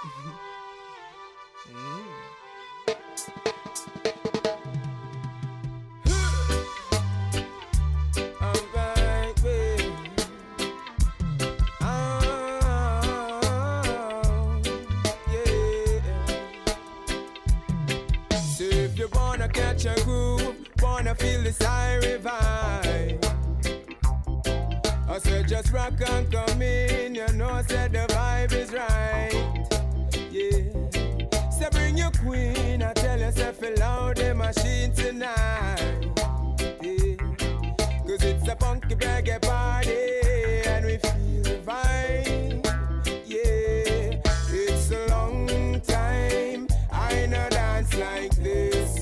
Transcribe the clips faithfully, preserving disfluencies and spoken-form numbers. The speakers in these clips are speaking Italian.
Catch a groove, wanna feel the siren vibe. I said just rock and come in, you know said the vibe is right. Yeah, so bring your queen, I tell yourself loud the machine tonight. Yeah, cause it's a funky reggae party and we feel the vibe. Yeah, it's a long time I no dance like this.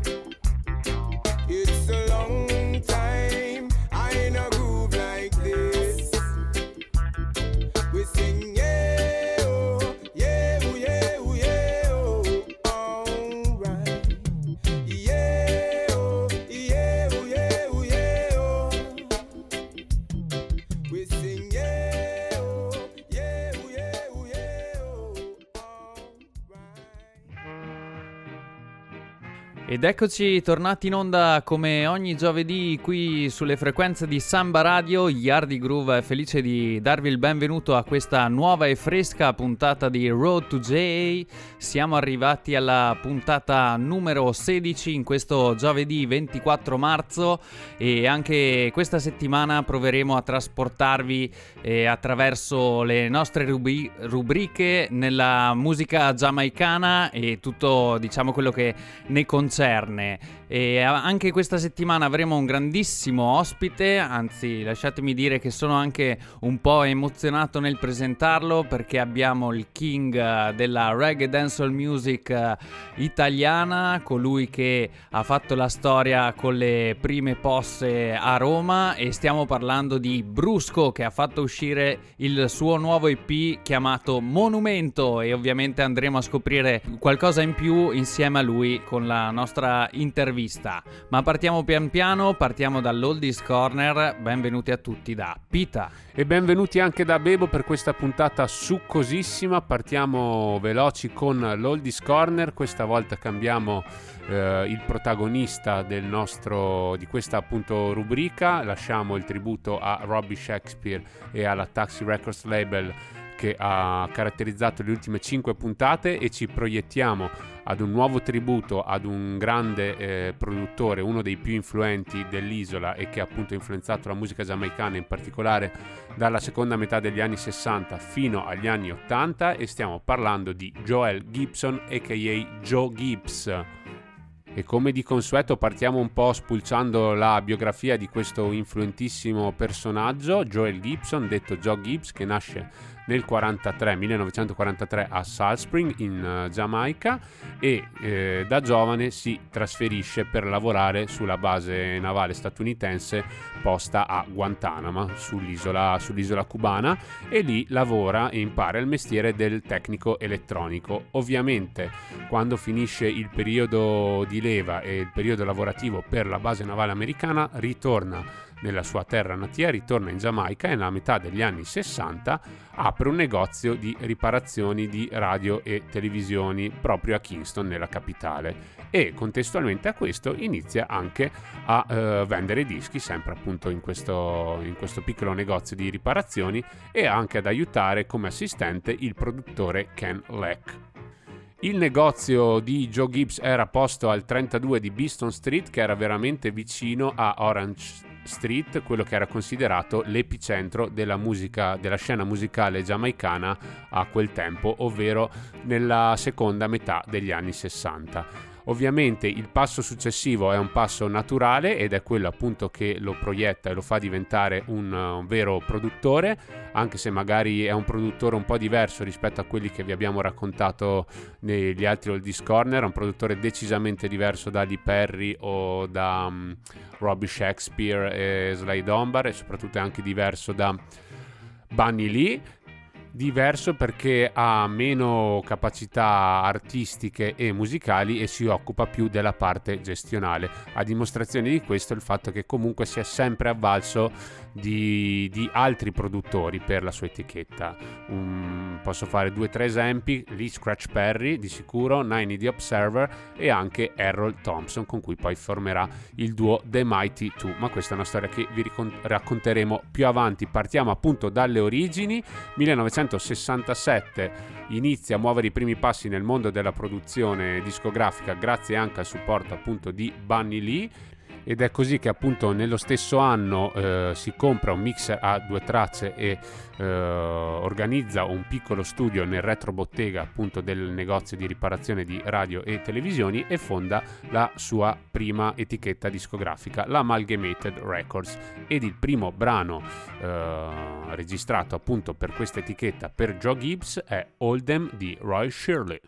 It's a long time I no groove like this. We sing yeah oh, yeah oh, yeah oh, yeah oh, alright. Yeah oh, yeah oh, yeah oh, yeah oh. We sing yeah oh, yeah oh, yeah oh, yeah oh, alright. Ed eccoci tornati in onda come ogni giovedì qui sulle frequenze di Samba Radio. Yardi Groove è felice di darvi il benvenuto a questa nuova e fresca puntata di Road to J A. Siamo arrivati alla puntata numero sedici in questo giovedì ventiquattro marzo e anche questa settimana proveremo a trasportarvi eh, attraverso le nostre rubri- rubriche nella musica giamaicana e tutto, diciamo, quello che ne concerne. E anche questa settimana avremo un grandissimo ospite, anzi lasciatemi dire che sono anche un po' emozionato nel presentarlo perché abbiamo il king della reggae dancehall music italiana, colui che ha fatto la storia con le prime posse a Roma, e stiamo parlando di Brusco, che ha fatto uscire il suo nuovo E P chiamato Monumento, e ovviamente andremo a scoprire qualcosa in più insieme a lui con la nostra intervista. Ma partiamo pian piano, partiamo dall'Oldies Corner. Benvenuti a tutti da Pita. E benvenuti anche da Bebo per questa puntata succosissima. Partiamo veloci con l'Oldies Corner. Questa volta cambiamo eh, il protagonista del nostro, di questa appunto rubrica. Lasciamo il tributo a Robbie Shakespeare e alla Taxi Records label che ha caratterizzato le ultime cinque puntate, e ci proiettiamo ad un nuovo tributo ad un grande eh, produttore, uno dei più influenti dell'isola e che ha appunto influenzato la musica giamaicana, in particolare dalla seconda metà degli anni sessanta fino agli anni ottanta, e stiamo parlando di Joel Gibson aka Joe Gibbs. E come di consueto partiamo un po' spulciando la biografia di questo influentissimo personaggio, Joel Gibson, detto Joe Gibbs, che nasce nel quarantatré, millenovecentoquarantatré a Salt Spring in uh, Giamaica, e eh, da giovane si trasferisce per lavorare sulla base navale statunitense posta a Guantanamo, sull'isola, sull'isola cubana, e lì lavora e impara il mestiere del tecnico elettronico. Ovviamente quando finisce il periodo di leva e il periodo lavorativo per la base navale americana ritorna nella sua terra natia, ritorna in Giamaica e nella metà degli anni sessanta apre un negozio di riparazioni di radio e televisioni proprio a Kingston, nella capitale, e contestualmente a questo inizia anche a eh, vendere dischi, sempre appunto in questo, in questo piccolo negozio di riparazioni, e anche ad aiutare come assistente il produttore Ken Leck. Il negozio di Joe Gibbs era posto al trentadue di Beeston Street, che era veramente vicino a Orange Street, quello che era considerato l'epicentro della musica, della scena musicale giamaicana a quel tempo, ovvero nella seconda metà degli anni sessanta. Ovviamente il passo successivo è un passo naturale ed è quello appunto che lo proietta e lo fa diventare un, un vero produttore, anche se magari è un produttore un po' diverso rispetto a quelli che vi abbiamo raccontato negli altri Oldies Corner, è un produttore decisamente diverso da Lee Perry o da um, Robbie Shakespeare e Sly Dunbar, e soprattutto è anche diverso da Bunny Lee. diverso perché ha meno capacità artistiche e musicali e si occupa più della parte gestionale. A dimostrazione di questo il fatto che comunque si è sempre avvalso di, di altri produttori per la sua etichetta. Um, posso fare due o tre esempi: Lee Scratch Perry di sicuro, Nine The Observer e anche Errol Thompson, con cui poi formerà il duo The Mighty Two, ma questa è una storia che vi racconteremo più avanti. Partiamo appunto dalle origini. millenovecentosessantasette inizia a muovere i primi passi nel mondo della produzione discografica grazie anche al supporto appunto di Bunny Lee, ed è così che appunto nello stesso anno eh, si compra un mixer a due tracce e eh, organizza un piccolo studio nel retrobottega appunto del negozio di riparazione di radio e televisioni e fonda la sua prima etichetta discografica, la Amalgamated Records, ed il primo brano eh, registrato appunto per questa etichetta per Joe Gibbs è Oldham di Roy Shirley.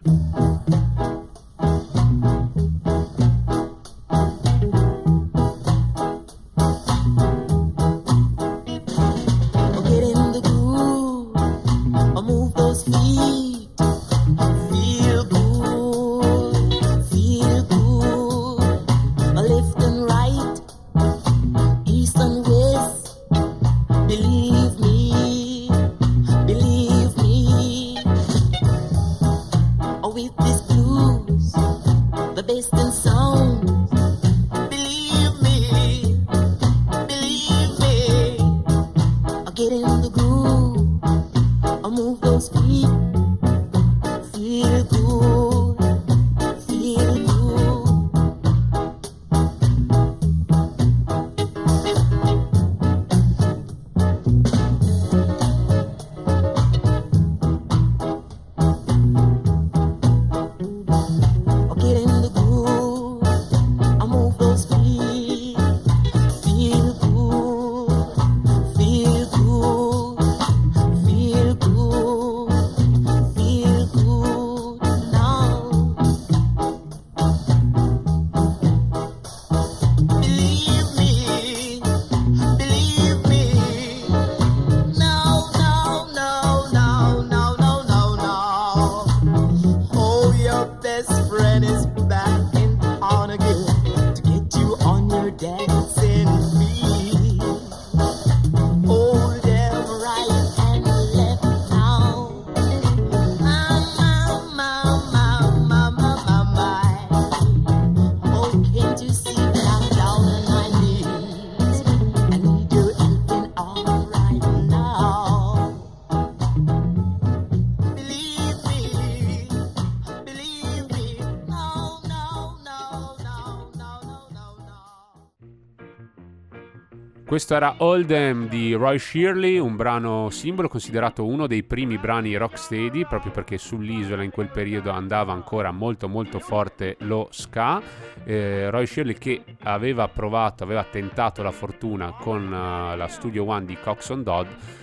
Questo era Oldham di Roy Shirley, un brano simbolo, considerato uno dei primi brani rocksteady, proprio perché sull'isola in quel periodo andava ancora molto molto forte lo ska. eh, Roy Shirley, che aveva provato, aveva tentato la fortuna con uh, la Studio One di Coxsone Dodd,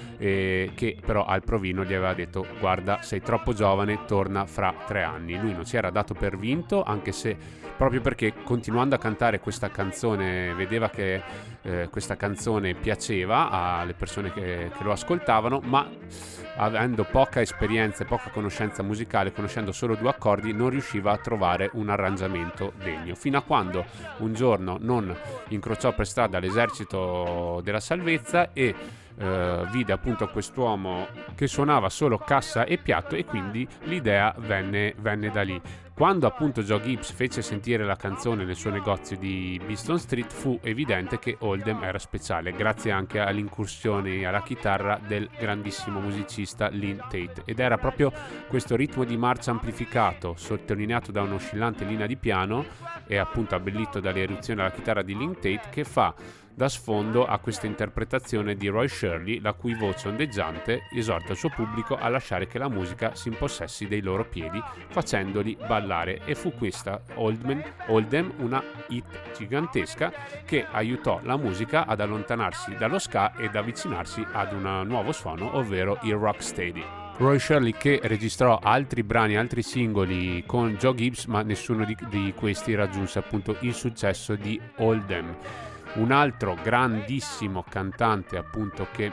eh, che però al provino gli aveva detto: guarda, sei troppo giovane, torna fra tre anni. Lui non si era dato per vinto, anche se proprio perché continuando a cantare questa canzone vedeva che eh, questa canzone piaceva alle persone che, che lo ascoltavano, ma avendo poca esperienza e poca conoscenza musicale, conoscendo solo due accordi, non riusciva a trovare un arrangiamento degno, fino a quando un giorno non incrociò per strada l'esercito della salvezza e Uh, vide appunto quest'uomo che suonava solo cassa e piatto, e quindi l'idea venne, venne da lì. Quando appunto Joe Gibbs fece sentire la canzone nel suo negozio di Beeston Street, fu evidente che Oldham era speciale, grazie anche all'incursione alla chitarra del grandissimo musicista Lynn Tate, ed era proprio questo ritmo di marcia amplificato, sottolineato da un'oscillante linea di piano e appunto abbellito dalle eruzioni alla chitarra di Lynn Tate, che fa da sfondo a questa interpretazione di Roy Shirley, la cui voce ondeggiante esorta il suo pubblico a lasciare che la musica si impossessi dei loro piedi, facendoli ballare. E fu questa Oldham, Oldham una hit gigantesca che aiutò la musica ad allontanarsi dallo ska ed avvicinarsi ad un nuovo suono, ovvero il rocksteady. Roy Shirley, che registrò altri brani, altri singoli con Joe Gibbs, ma nessuno di, di questi raggiunse appunto il successo di Oldham. Un altro grandissimo cantante appunto che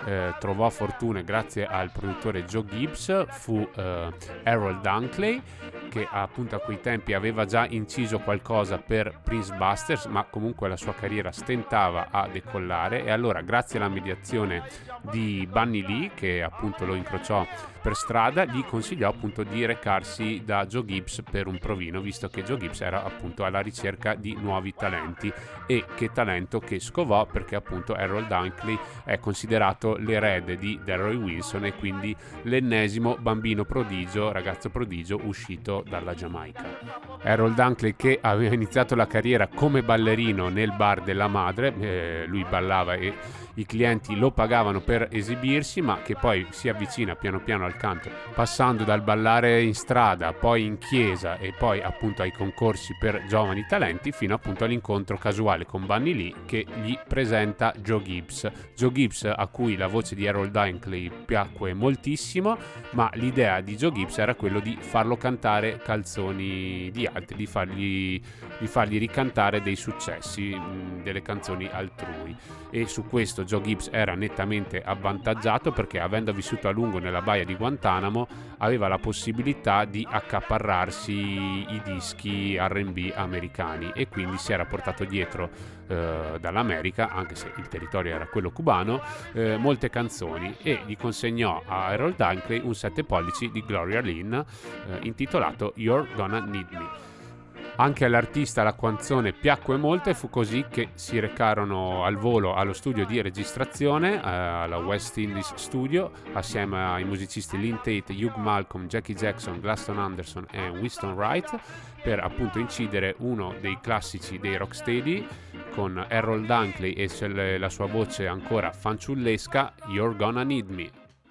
eh, trovò fortuna grazie al produttore Joe Gibbs fu eh, Errol Dunkley, che appunto a quei tempi aveva già inciso qualcosa per Prince Busters, ma comunque la sua carriera stentava a decollare, e allora grazie alla mediazione di Bunny Lee, che appunto lo incrociò per strada, gli consigliò appunto di recarsi da Joe Gibbs per un provino, visto che Joe Gibbs era appunto alla ricerca di nuovi talenti, e che talento che scovò, perché appunto Errol Dunkley è considerato l'erede di Delroy Wilson e quindi l'ennesimo bambino prodigio, ragazzo prodigio uscito dalla Giamaica. Errol Dunkley, che aveva iniziato la carriera come ballerino nel bar della madre, eh, lui ballava e i clienti lo pagavano per esibirsi, ma che poi si avvicina piano piano al canto, passando dal ballare in strada, poi in chiesa e poi appunto ai concorsi per giovani talenti, fino appunto all'incontro casuale con Bunny Lee, che gli presenta Joe Gibbs. Joe Gibbs, a cui la voce di Errol Dunkley piacque moltissimo, ma l'idea di Joe Gibbs era quello di farlo cantare canzoni di altri, di fargli, di fargli ricantare dei successi, mh, delle canzoni altrui, e su questo Joe Gibbs era nettamente avvantaggiato, perché avendo vissuto a lungo nella baia di Guantanamo aveva la possibilità di accaparrarsi i dischi R and B americani, e quindi si era portato dietro eh, dall'America, anche se il territorio era quello cubano, eh, molte canzoni, e gli consegnò a Errol Dunkley un sette pollici di Gloria Lynn eh, intitolato You're Gonna Need Me. Anche all'artista la canzone piacque molto, e fu così che si recarono al volo allo studio di registrazione, eh, alla West Indies Studio, assieme ai musicisti Lynn Tate, Hugh Malcolm, Jackie Jackson, Glaston Anderson e Winston Wright, per appunto incidere uno dei classici dei rocksteady, con Errol Dunkley e la sua voce ancora fanciullesca, You're Gonna Need Me.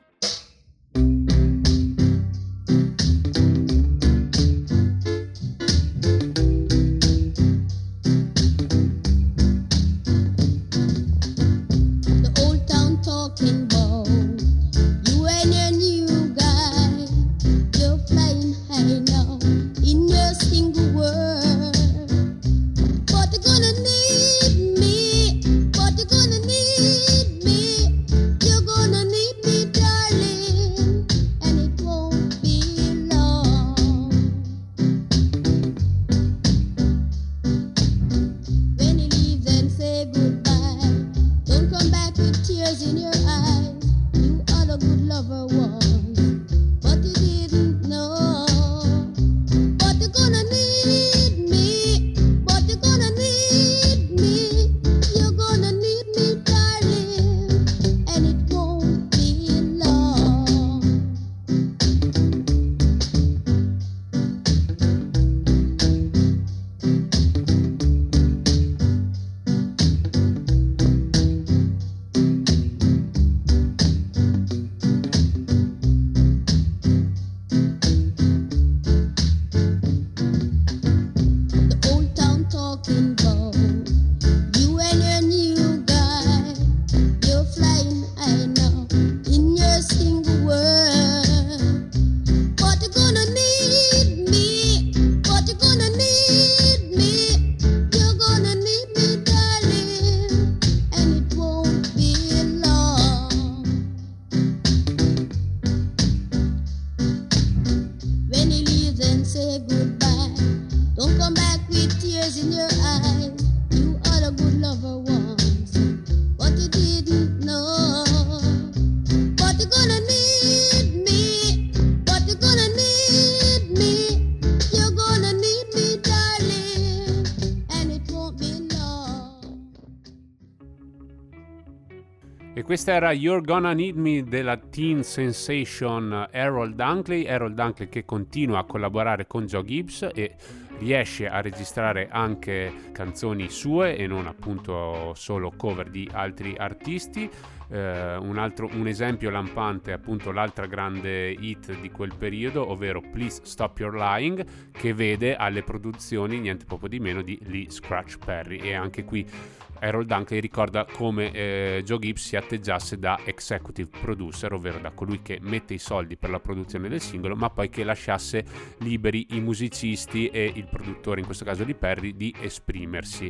E questa era You're Gonna Need Me della teen sensation Errol Dunkley. Errol Dunkley che continua a collaborare con Joe Gibbs e riesce a registrare anche canzoni sue e non appunto solo cover di altri artisti. Uh, un altro un esempio lampante è appunto l'altra grande hit di quel periodo, ovvero Please Stop Your Lying, che vede alle produzioni niente poco di meno di Lee Scratch Perry. E anche qui Errol Dunkley ricorda come eh, Joe Gibbs si atteggiasse da executive producer, ovvero da colui che mette i soldi per la produzione del singolo, ma poi che lasciasse liberi i musicisti e il produttore, in questo caso di Perry, di esprimersi.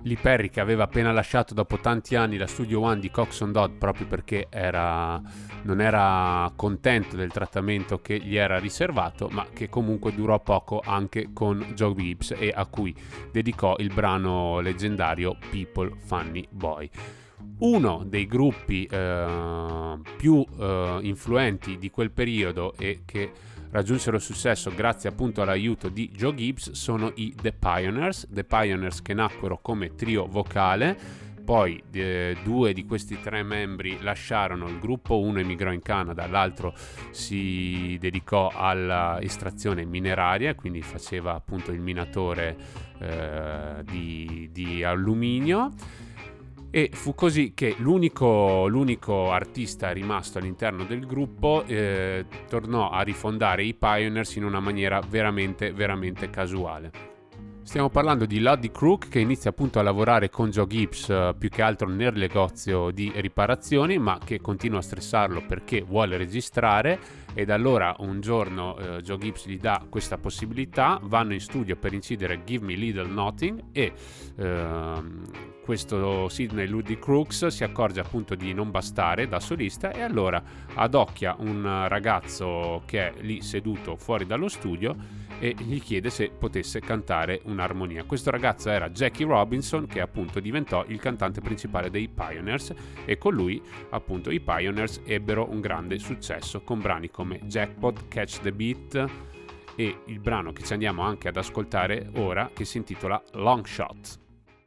Lee Perry, che aveva appena lasciato dopo tanti anni la Studio One di Coxsone Dodd proprio perché era, non era contento del trattamento che gli era riservato, ma che comunque durò poco anche con Joe Gibbs, e a cui dedicò il brano leggendario People Funny Boy. Uno dei gruppi eh, più eh, influenti di quel periodo e che raggiunsero successo grazie appunto all'aiuto di Joe Gibbs sono i The Pioneers. The Pioneers, che nacquero come trio vocale, poi eh, due di questi tre membri lasciarono il gruppo, uno emigrò in Canada, l'altro si dedicò all'estrazione mineraria, quindi faceva appunto il minatore eh, di, di alluminio. E fu così che l'unico, l'unico artista rimasto all'interno del gruppo eh, tornò a rifondare i Pioneers in una maniera veramente, veramente casuale. Stiamo parlando di Loddy Crook, che inizia appunto a lavorare con Joe Gibbs eh, più che altro nel negozio di riparazioni, ma che continua a stressarlo perché vuole registrare, ed allora un giorno eh, Joe Gibbs gli dà questa possibilità, vanno in studio per incidere Give Me Little Nothing e ehm, questo Sidney Loddy Crooks si accorge appunto di non bastare da solista, e allora adocchia un ragazzo che è lì seduto fuori dallo studio e gli chiede se potesse cantare un'armonia. Questo ragazzo era Jackie Robinson, che appunto diventò il cantante principale dei Pioneers, e con lui appunto i Pioneers ebbero un grande successo con brani come Jackpot, Catch the Beat e il brano che ci andiamo anche ad ascoltare ora, che si intitola Long Shot.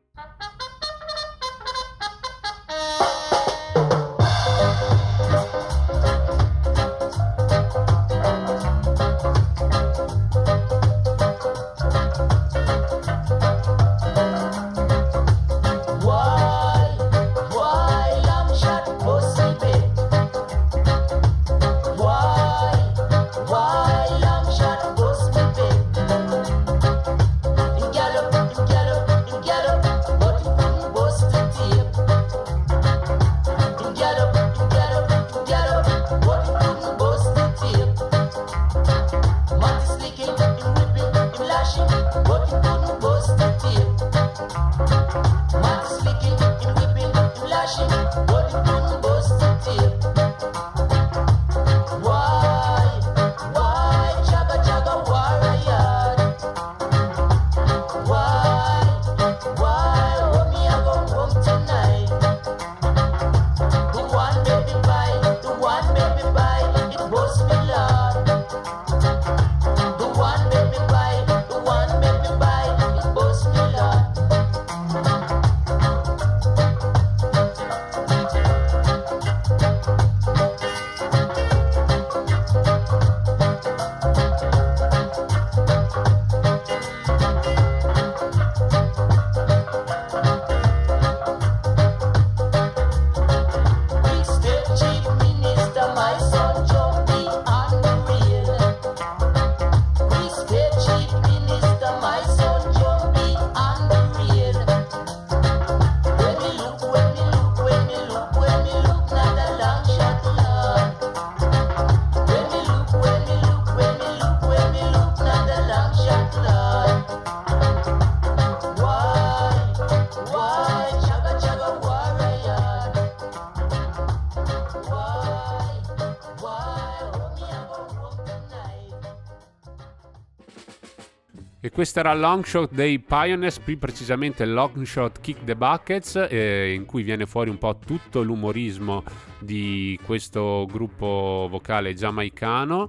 E questo era Long Shot dei Pioneers, più precisamente Long Shot Kick the Buckets, eh, in cui viene fuori un po' tutto l'umorismo di questo gruppo vocale giamaicano.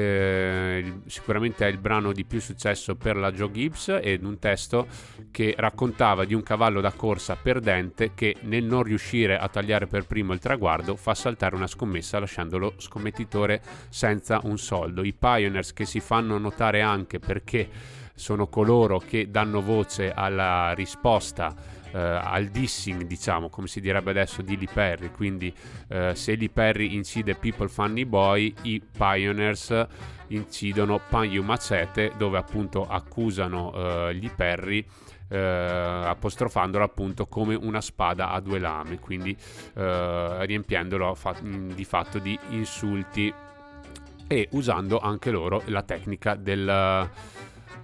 Eh, sicuramente è il brano di più successo per la Joe Gibbs, ed un testo che raccontava di un cavallo da corsa perdente che, nel non riuscire a tagliare per primo il traguardo, fa saltare una scommessa lasciando lo scommettitore senza un soldo. I Pioneers, che si fanno notare anche perché sono coloro che danno voce alla risposta, eh, al dissing, diciamo, come si direbbe adesso, di Lee Perry. Quindi eh, se Lee Perry incide People Funny Boy, i Pioneers incidono Pan You Machete, dove appunto accusano eh, Lee Perry eh, apostrofandolo appunto come una spada a due lame, quindi eh, riempiendolo fa- di fatto di insulti, e usando anche loro la tecnica del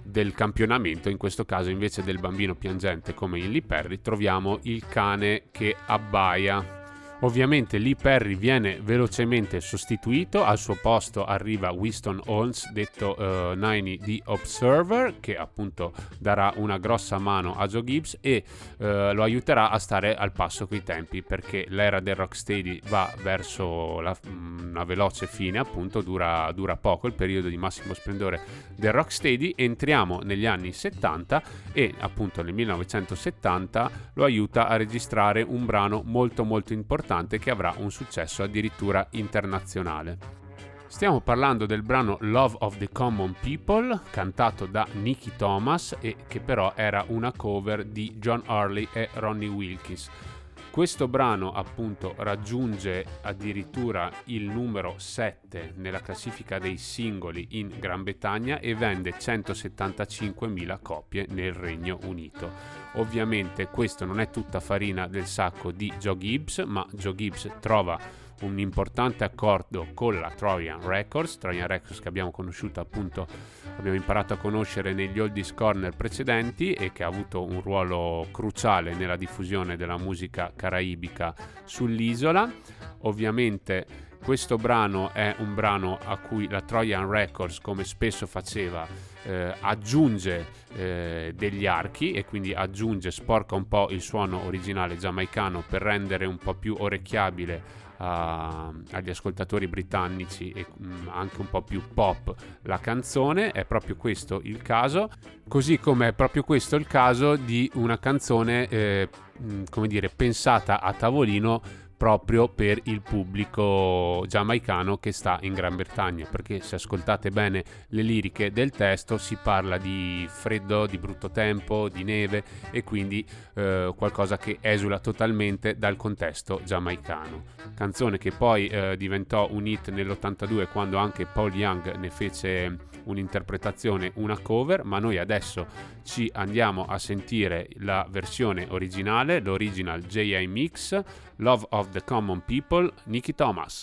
del campionamento. In questo caso, invece del bambino piangente come in Lee Perry, troviamo il cane che abbaia. Ovviamente Lee Perry viene velocemente sostituito, al suo posto arriva Winston Holmes, detto uh, Niney the Observer, che appunto darà una grossa mano a Joe Gibbs e uh, lo aiuterà a stare al passo coi tempi, perché l'era del rocksteady va verso la, una veloce fine, appunto dura, dura poco il periodo di massimo splendore del rocksteady. Entriamo negli anni settanta e appunto nel millenovecentosettanta lo aiuta a registrare un brano molto molto importante che avrà un successo addirittura internazionale. Stiamo parlando del brano Love of the Common People, cantato da Nicky Thomas e che però era una cover di John Hurley e Ronnie Wilkins. Questo brano appunto raggiunge addirittura il numero sette nella classifica dei singoli in Gran Bretagna e vende centosettantacinquemila copie nel Regno Unito. Ovviamente questo non è tutta farina del sacco di Joe Gibbs, ma Joe Gibbs trova un importante accordo con la Trojan Records, Trojan Records che abbiamo conosciuto appunto, abbiamo imparato a conoscere negli Oldies Corner precedenti e che ha avuto un ruolo cruciale nella diffusione della musica caraibica sull'isola. Ovviamente questo brano è un brano a cui la Trojan Records, come spesso faceva, eh, aggiunge eh, degli archi e quindi aggiunge, sporca un po' il suono originale giamaicano per rendere un po' più orecchiabile Uh, agli ascoltatori britannici e um, anche un po' più pop la canzone. È proprio questo il caso, così come è proprio questo il caso di una canzone eh, mh, come dire pensata a tavolino proprio per il pubblico giamaicano che sta in Gran Bretagna, perché se ascoltate bene le liriche del testo si parla di freddo, di brutto tempo, di neve e quindi eh, qualcosa che esula totalmente dal contesto giamaicano. Canzone che poi eh, diventò un hit nell'ottantadue quando anche Paul Young ne fece un'interpretazione, una cover, ma noi adesso ci andiamo a sentire la versione originale, l'original J I Mix, Love of the Common People, Nicky Thomas.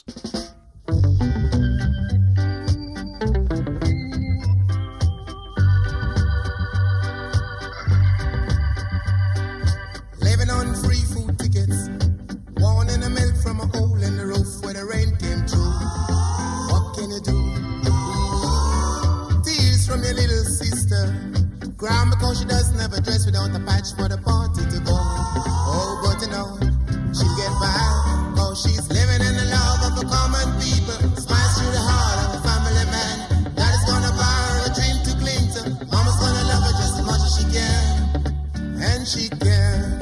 Living on free food tickets, wanting the milk from a hole in the roof where the rain came through. What can you do? Tears from your little sister, crying because she doesn't have a dress without a patch for the party to go. Oh, but you know she get by, cause she's living in the love of the common people. Smiles through the heart of a family man. Daddy's gonna buy her a dream to cling to. Mama's gonna love her just as much as she can, and she can.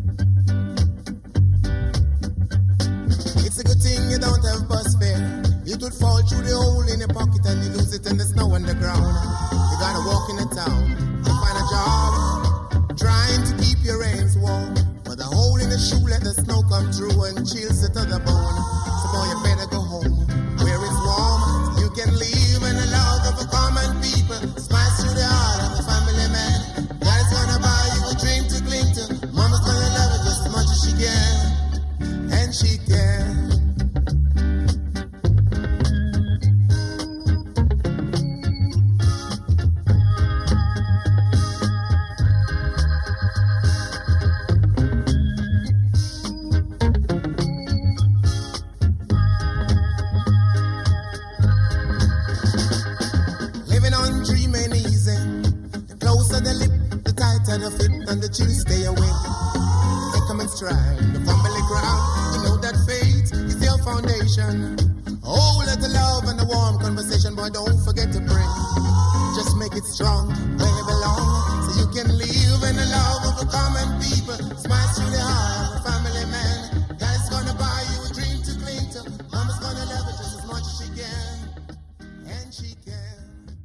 It's a good thing you don't have bus fare. It would fall through the hole in your pocket and you lose it in the snow on the ground. You gotta walk in the town to find a job, trying to keep your reins warm. But the hole in the shoe let the snow come through and chills it to the bone. So boy, you better go home where it's warm. You can live in the love of the common people. Smiles through the heart of the family man. Daddy's gonna buy you a dream to cling to. Mama's gonna love it just as much as she can, and she can. The fit and the chill stay away. Take them in stride, the family ground. You know that faith is your foundation. Oh, let the love and the warm conversation, boy, don't forget to pray. Just make it strong where you belong, so you can live in the love of the common people. Smile through the heart of the family man. Dad's gonna buy you a dream to cling to. Mama's gonna love it just as much as she can, and she can.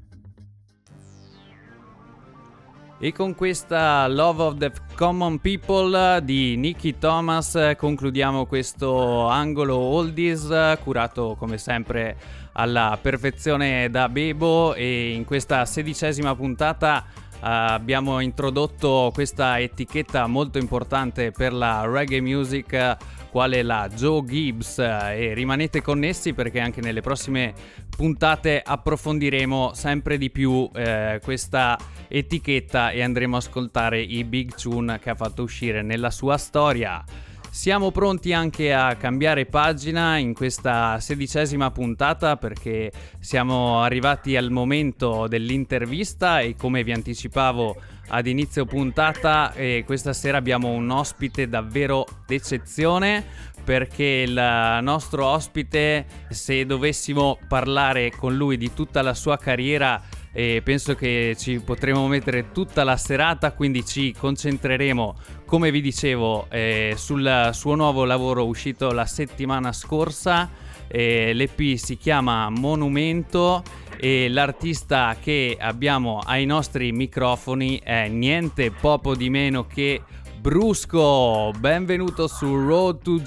E con questa Love of the Common People di Nicky Thomas concludiamo questo angolo oldies curato come sempre alla perfezione da Bebo, e in questa sedicesima puntata abbiamo introdotto questa etichetta molto importante per la reggae music, quale la Joe Gibbs, e rimanete connessi perché anche nelle prossime puntate approfondiremo sempre di più eh, questa etichetta e andremo a ascoltare i big tune che ha fatto uscire nella sua storia. Siamo pronti anche a cambiare pagina in questa sedicesima puntata perché siamo arrivati al momento dell'intervista e, come vi anticipavo ad inizio puntata, eh, questa sera abbiamo un ospite davvero d'eccezione, perché il nostro ospite, se dovessimo parlare con lui di tutta la sua carriera, e penso che ci potremo mettere tutta la serata, quindi ci concentreremo, come vi dicevo, eh, sul suo nuovo lavoro uscito la settimana scorsa. eh, l'E P si chiama Monumento e l'artista che abbiamo ai nostri microfoni è niente poco di meno che Brusco. Benvenuto su Road to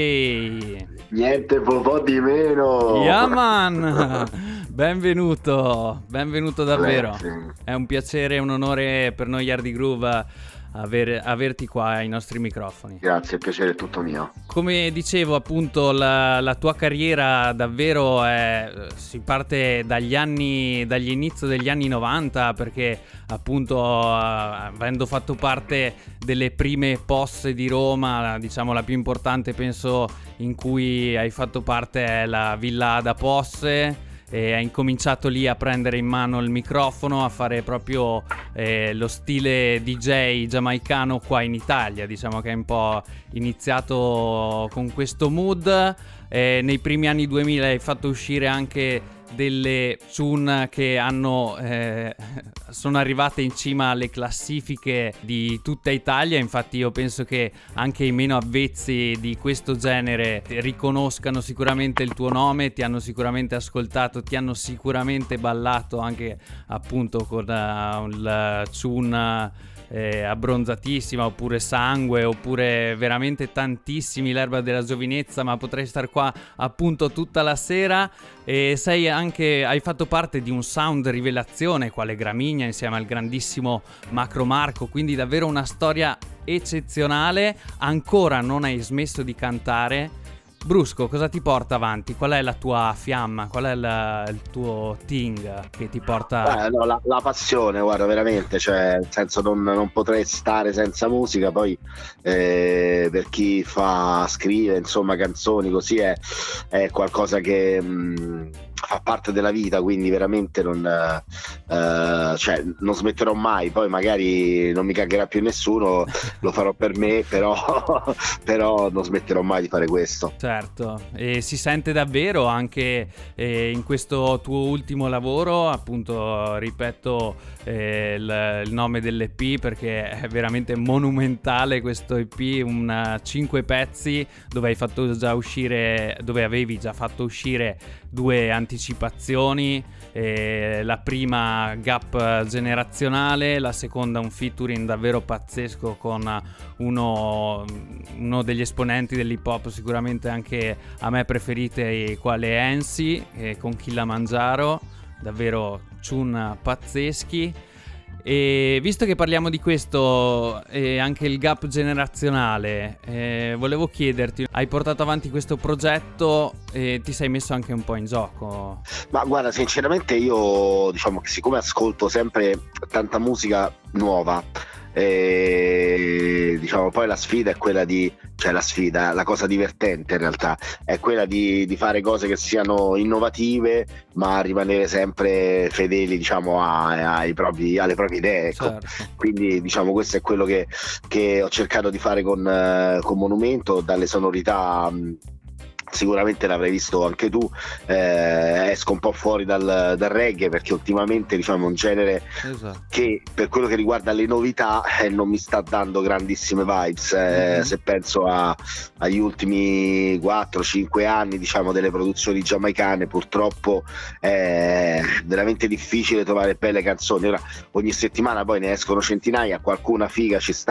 J. Niente po' di meno. Yeah man. Benvenuto, benvenuto davvero. Grazie. È un piacere e un onore per noi Yardi Groove aver, averti qua ai nostri microfoni. Grazie, il piacere è tutto mio. Come dicevo, appunto, la, la tua carriera davvero è, si parte dagli anni, dagli inizi degli anni novanta, perché appunto avendo fatto parte delle prime posse di Roma, diciamo la più importante penso in cui hai fatto parte è la Villa Ada Posse, e hai incominciato lì a prendere in mano il microfono, a fare proprio eh, lo stile D J giamaicano qua in Italia. Diciamo che è un po' iniziato con questo mood. Eh, nei primi anni duemila hai fatto uscire anche delle tune che hanno eh, sono arrivate in cima alle classifiche di tutta Italia. Infatti io penso che anche i meno avvezzi di questo genere riconoscano sicuramente il tuo nome, ti hanno sicuramente ascoltato, ti hanno sicuramente ballato anche appunto con uh, il tune Eh, abbronzatissima, oppure Sangue, oppure veramente tantissimi, L'erba della giovinezza, ma potrei star qua appunto tutta la sera. E sei anche, hai fatto parte di un sound rivelazione quale Gramigna insieme al grandissimo Macro Marco, quindi davvero una storia eccezionale. Ancora non hai smesso di cantare. Brusco, cosa ti porta avanti? Qual è la tua fiamma? Qual è la, il tuo thing che ti porta... Eh, no, la, la passione, guarda, veramente, cioè, nel senso non, non potrei stare senza musica. Poi eh, per chi fa, scrive, insomma, canzoni così è, è qualcosa che... Mh, fa parte della vita, quindi veramente non, uh, cioè, non smetterò mai. Poi magari non mi cagherà più nessuno, lo farò per me, però, però non smetterò mai di fare questo. Certo, e si sente davvero anche eh, in questo tuo ultimo lavoro, appunto ripeto eh, il, il nome dell'E P perché è veramente monumentale questo E P, un cinque pezzi dove hai fatto già uscire, dove avevi già fatto uscire due anticipazioni, eh, la prima gap generazionale, la seconda un featuring davvero pazzesco con uno, uno degli esponenti dell'hip hop sicuramente anche a me preferite, quale Ensi, eh, con Kilimangiaro, davvero tune pazzeschi. E visto che parliamo di questo e anche il gap generazionale, eh, volevo chiederti, hai portato avanti questo progetto e ti sei messo anche un po' in gioco? Ma guarda, sinceramente io diciamo che siccome ascolto sempre tanta musica nuova, e diciamo poi la sfida è quella di, cioè la sfida, la cosa divertente in realtà è quella di, di fare cose che siano innovative ma rimanere sempre fedeli, diciamo, a, ai propri, alle proprie idee, ecco. Certo. Quindi diciamo questo è quello che, che ho cercato di fare con, con Monumento, dalle sonorità mh, sicuramente l'avrai visto anche tu, eh, esco un po' fuori dal, dal reggae perché ultimamente diciamo è un genere Esatto. che per quello che riguarda le novità eh, non mi sta dando grandissime vibes, eh, mm-hmm. Se penso a, agli ultimi quattro cinque anni diciamo delle produzioni giamaicane, purtroppo è veramente difficile trovare belle canzoni. Ora ogni settimana poi ne escono centinaia, qualcuna figa ci sta,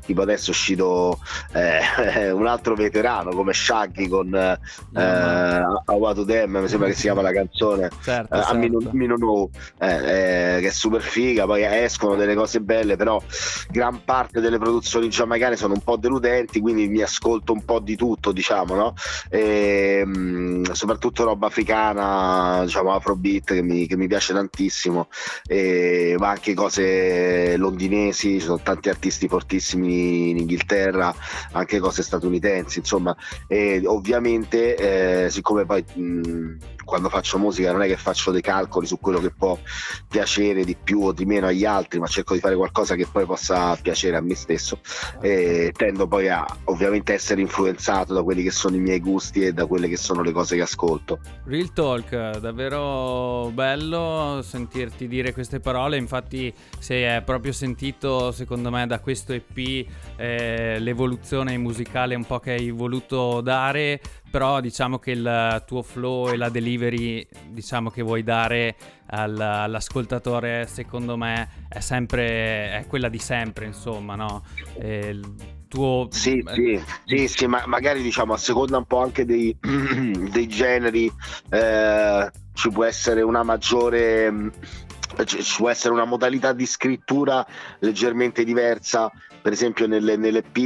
tipo adesso è uscito eh, un altro veterano come Shaggy con eh, no, I Want to Them, mi sembra che si chiama la canzone, certo, eh, certo. a Me No Know, eh, eh, che è super figa. Poi escono delle cose belle, però gran parte delle produzioni giamaicane sono un po' deludenti, quindi mi ascolto un po' di tutto, diciamo, no? E, mh, soprattutto roba africana, diciamo afrobeat, che mi, che mi piace tantissimo, e, ma anche cose londinesi, ci sono tanti artisti fortissimi in Inghilterra, anche cose statunitensi, insomma. E ovviamente eh, siccome poi mh, quando faccio musica non è che faccio dei calcoli su quello che può piacere di più o di meno agli altri, ma cerco di fare qualcosa che poi possa piacere a me stesso, e tendo poi a ovviamente essere influenzato da quelli che sono i miei gusti e da quelle che sono le cose che ascolto. Real talk, davvero bello sentirti dire queste parole. Infatti si è proprio sentito, secondo me, da questo E P eh, l'evoluzione musicale un po' che hai voluto dare, però diciamo che il tuo flow e la delivery, diciamo, che vuoi dare al, all'ascoltatore, secondo me è sempre è quella di sempre, insomma, no? E il tuo sì sì sì sì ma magari, diciamo, a seconda un po' anche dei, dei generi eh, ci può essere una maggiore ci può essere una modalità di scrittura leggermente diversa. Per esempio nelle, nelle P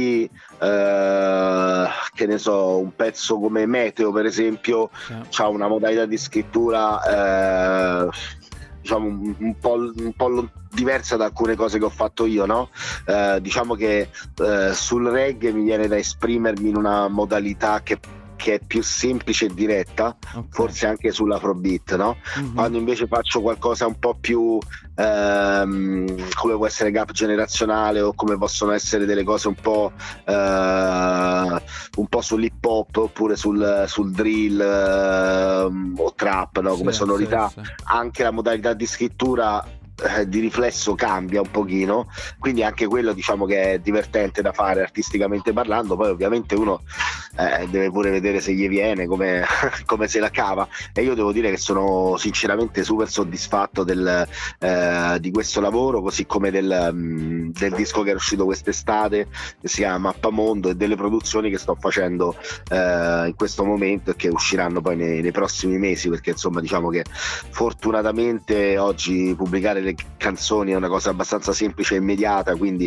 eh, che ne so, un pezzo come Meteo, per esempio, yeah, c'ha una modalità di scrittura eh, diciamo un, un po', un po' diversa da alcune cose che ho fatto io, no? Eh, diciamo che eh, sul reggae mi viene da esprimermi in una modalità che che è più semplice e diretta, okay, forse anche sull'afrobeat, no? Mm-hmm. Quando invece faccio qualcosa un po' più ehm, come può essere gap generazionale, o come possono essere delle cose un po' eh, un po' sull'hip hop, oppure sul, sul drill eh, o trap, no? Come sì, sonorità, sì, sì. Anche la modalità di scrittura eh, di riflesso cambia un pochino, quindi anche quello, diciamo, che è divertente da fare artisticamente parlando. Poi ovviamente uno eh, deve pure vedere se gli viene, come, come se la cava, e io devo dire che sono sinceramente super soddisfatto del, eh, di questo lavoro, così come del, um, del disco che è uscito quest'estate, che si chiama Mappamondo, e delle produzioni che sto facendo eh, in questo momento e che usciranno poi nei, nei prossimi mesi, perché insomma, diciamo che fortunatamente oggi pubblicare le canzoni è una cosa abbastanza semplice e immediata, quindi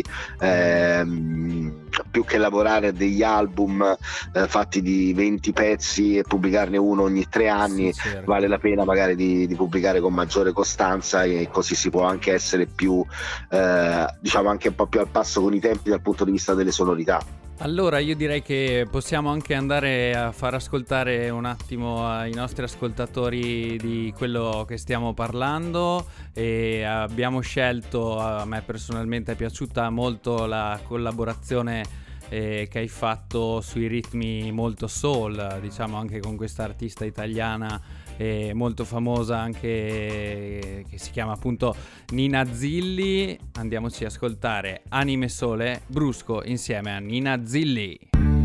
ehm, più che lavorare a degli album eh, fatti di venti pezzi e pubblicarne uno ogni tre anni, sì, certo, vale la pena magari di, di pubblicare con maggiore costanza, e così si può anche essere più eh, diciamo anche un po' più al passo con i tempi dal punto di vista delle sonorità. Allora io direi che possiamo anche andare a far ascoltare un attimo ai nostri ascoltatori di quello che stiamo parlando, e abbiamo scelto, a me personalmente è piaciuta molto la collaborazione eh, che hai fatto sui ritmi molto soul, diciamo, anche con questa artista italiana eh, molto famosa anche, che si chiama appunto Nina Zilli. Andiamoci a ascoltare Anime Sole, Brusco insieme a Nina Zilli.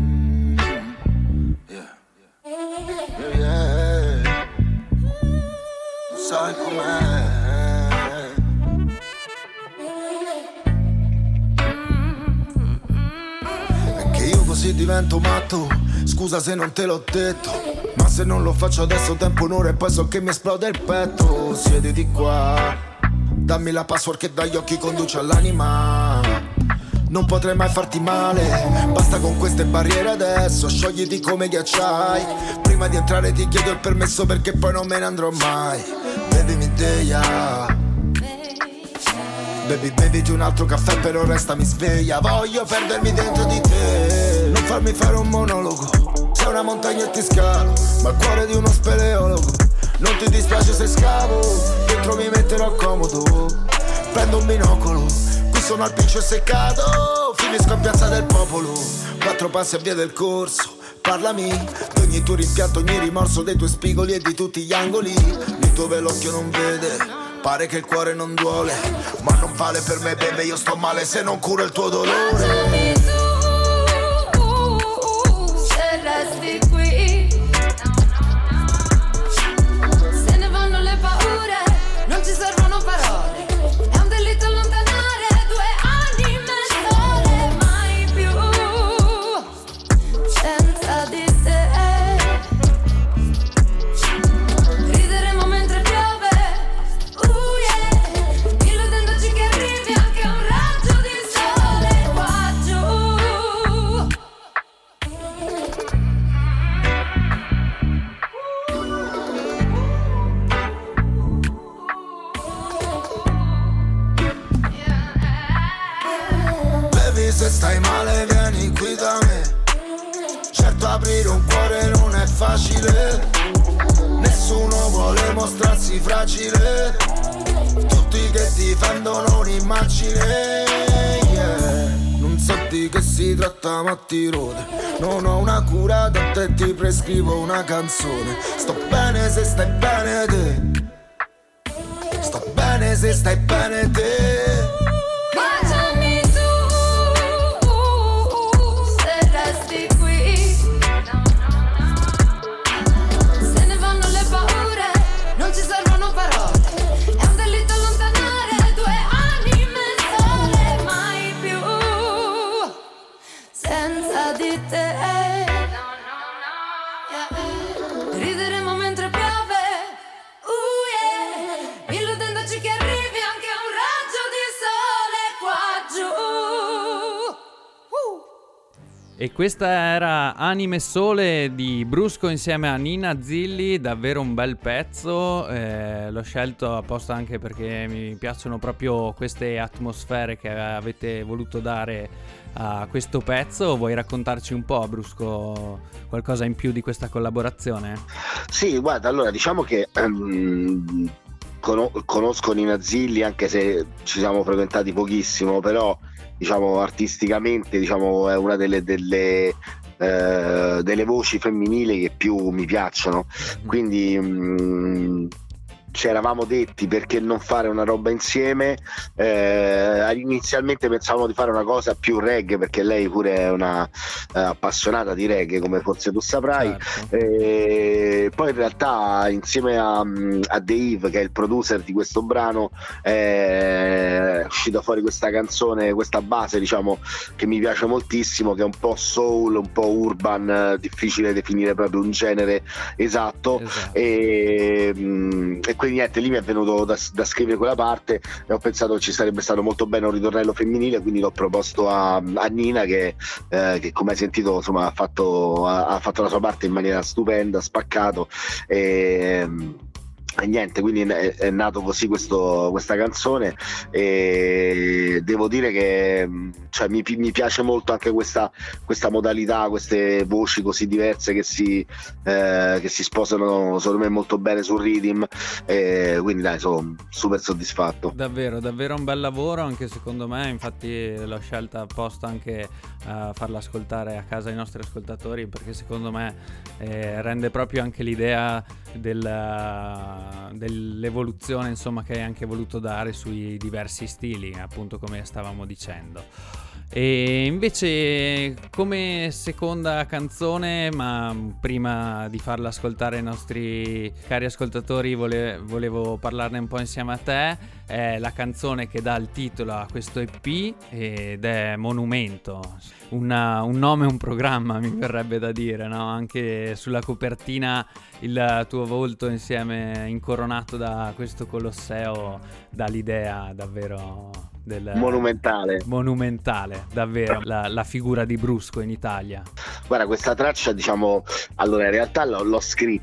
Yeah. Yeah, yeah. Sai com'è? Perché io così divento matto, scusa se non te l'ho detto, ma se non lo faccio adesso tempo un'ora e poi so che mi esplode il petto. Siediti qua, dammi la password che dagli occhi conduce all'anima. Non potrei mai farti male, basta con queste barriere adesso, sciogliti come ghiacciai. Prima di entrare ti chiedo il permesso perché poi non me ne andrò mai. Bevimi Deia, baby beviti un altro caffè però restami sveglia. Voglio perdermi dentro di te, non farmi fare un monologo. Sei una montagna e ti scalo, ma il cuore di uno speleologo. Non ti dispiace se scavo, dentro mi metterò comodo. Prendo un binocolo, qui sono al pincio seccato. Finisco in piazza del popolo, quattro passi a via del corso. Parlami di ogni tuo rimpianto, ogni rimorso dei tuoi spigoli e di tutti gli angoli lì dove l'occhio non vede. Pare che il cuore non duole, ma non vale per me, bebe, io sto male se non curo il tuo dolore. Lasciami tu, se resti qui. Se ne vanno le paure, non ci servono parole. È un delitto allontanare due anime sole. Mai facile, nessuno vuole mostrarsi fragile, tutti che difendono un'immagine, yeah. Non so di che si tratta ma ti rode, non ho una cura da te, ti prescrivo una canzone. Sto bene se stai bene te, sto bene se stai bene te. Baciami tu, se resti qui. Se ne vanno le paure, non ci servono parole. È un delitto allontanare due anime sole, mai più senza di te. Rideremo mentre piove, uh yeah, illudendoci che arrivi anche un raggio di sole qua giù. Uh. E questa era Anime Sole di Brusco insieme a Nina Zilli, davvero un bel pezzo, eh, l'ho scelto apposta anche perché mi piacciono proprio queste atmosfere che avete voluto dare a questo pezzo. Vuoi raccontarci un po', Brusco, qualcosa in più di questa collaborazione? Sì, guarda, allora diciamo che um, cono- conosco Nina Zilli, anche se ci siamo frequentati pochissimo, però diciamo artisticamente diciamo è una delle, delle, eh, delle voci femminili che più mi piacciono, quindi um, ci eravamo detti perché non fare una roba insieme. Eh, inizialmente pensavamo di fare una cosa più reggae, perché lei pure è una eh, appassionata di reggae, come forse tu saprai. Certo. Eh, poi in realtà insieme a, a Dave, che è il producer di questo brano, è uscita fuori questa canzone, questa base diciamo che mi piace moltissimo, che è un po' soul, un po' urban, difficile definire proprio un genere esatto, Esatto. E, e quindi niente, lì mi è venuto da, da scrivere quella parte e ho pensato che ci sarebbe stato molto bene un ritornello femminile, quindi l'ho proposto a, a Nina che, eh, che come hai sentito insomma ha fatto, ha, ha fatto la sua parte in maniera stupenda, spaccato, e, e niente, quindi è, è nato così questo, questa canzone, e devo dire che cioè, mi, mi piace molto anche questa, questa modalità, queste voci così diverse che si, eh, che si sposano secondo me molto bene sul rhythm, e quindi dai, sono super soddisfatto. Davvero, davvero un bel lavoro anche secondo me, infatti l'ho scelta apposta anche a farla ascoltare a casa ai nostri ascoltatori, perché secondo me eh, rende proprio anche l'idea del, dell'evoluzione insomma che hai anche voluto dare sui diversi stili, appunto come stavamo dicendo. E invece come seconda canzone, ma prima di farla ascoltare ai nostri cari ascoltatori vole- volevo parlarne un po' insieme a te, è la canzone che dà il titolo a questo E P ed è Monumento, Una, un nome, un programma mi verrebbe da dire, no? Anche sulla copertina il tuo volto insieme incoronato da questo Colosseo dà l'idea davvero del monumentale monumentale davvero la, la figura di Brusco in Italia. Guarda, questa traccia diciamo allora in realtà l'ho, l'ho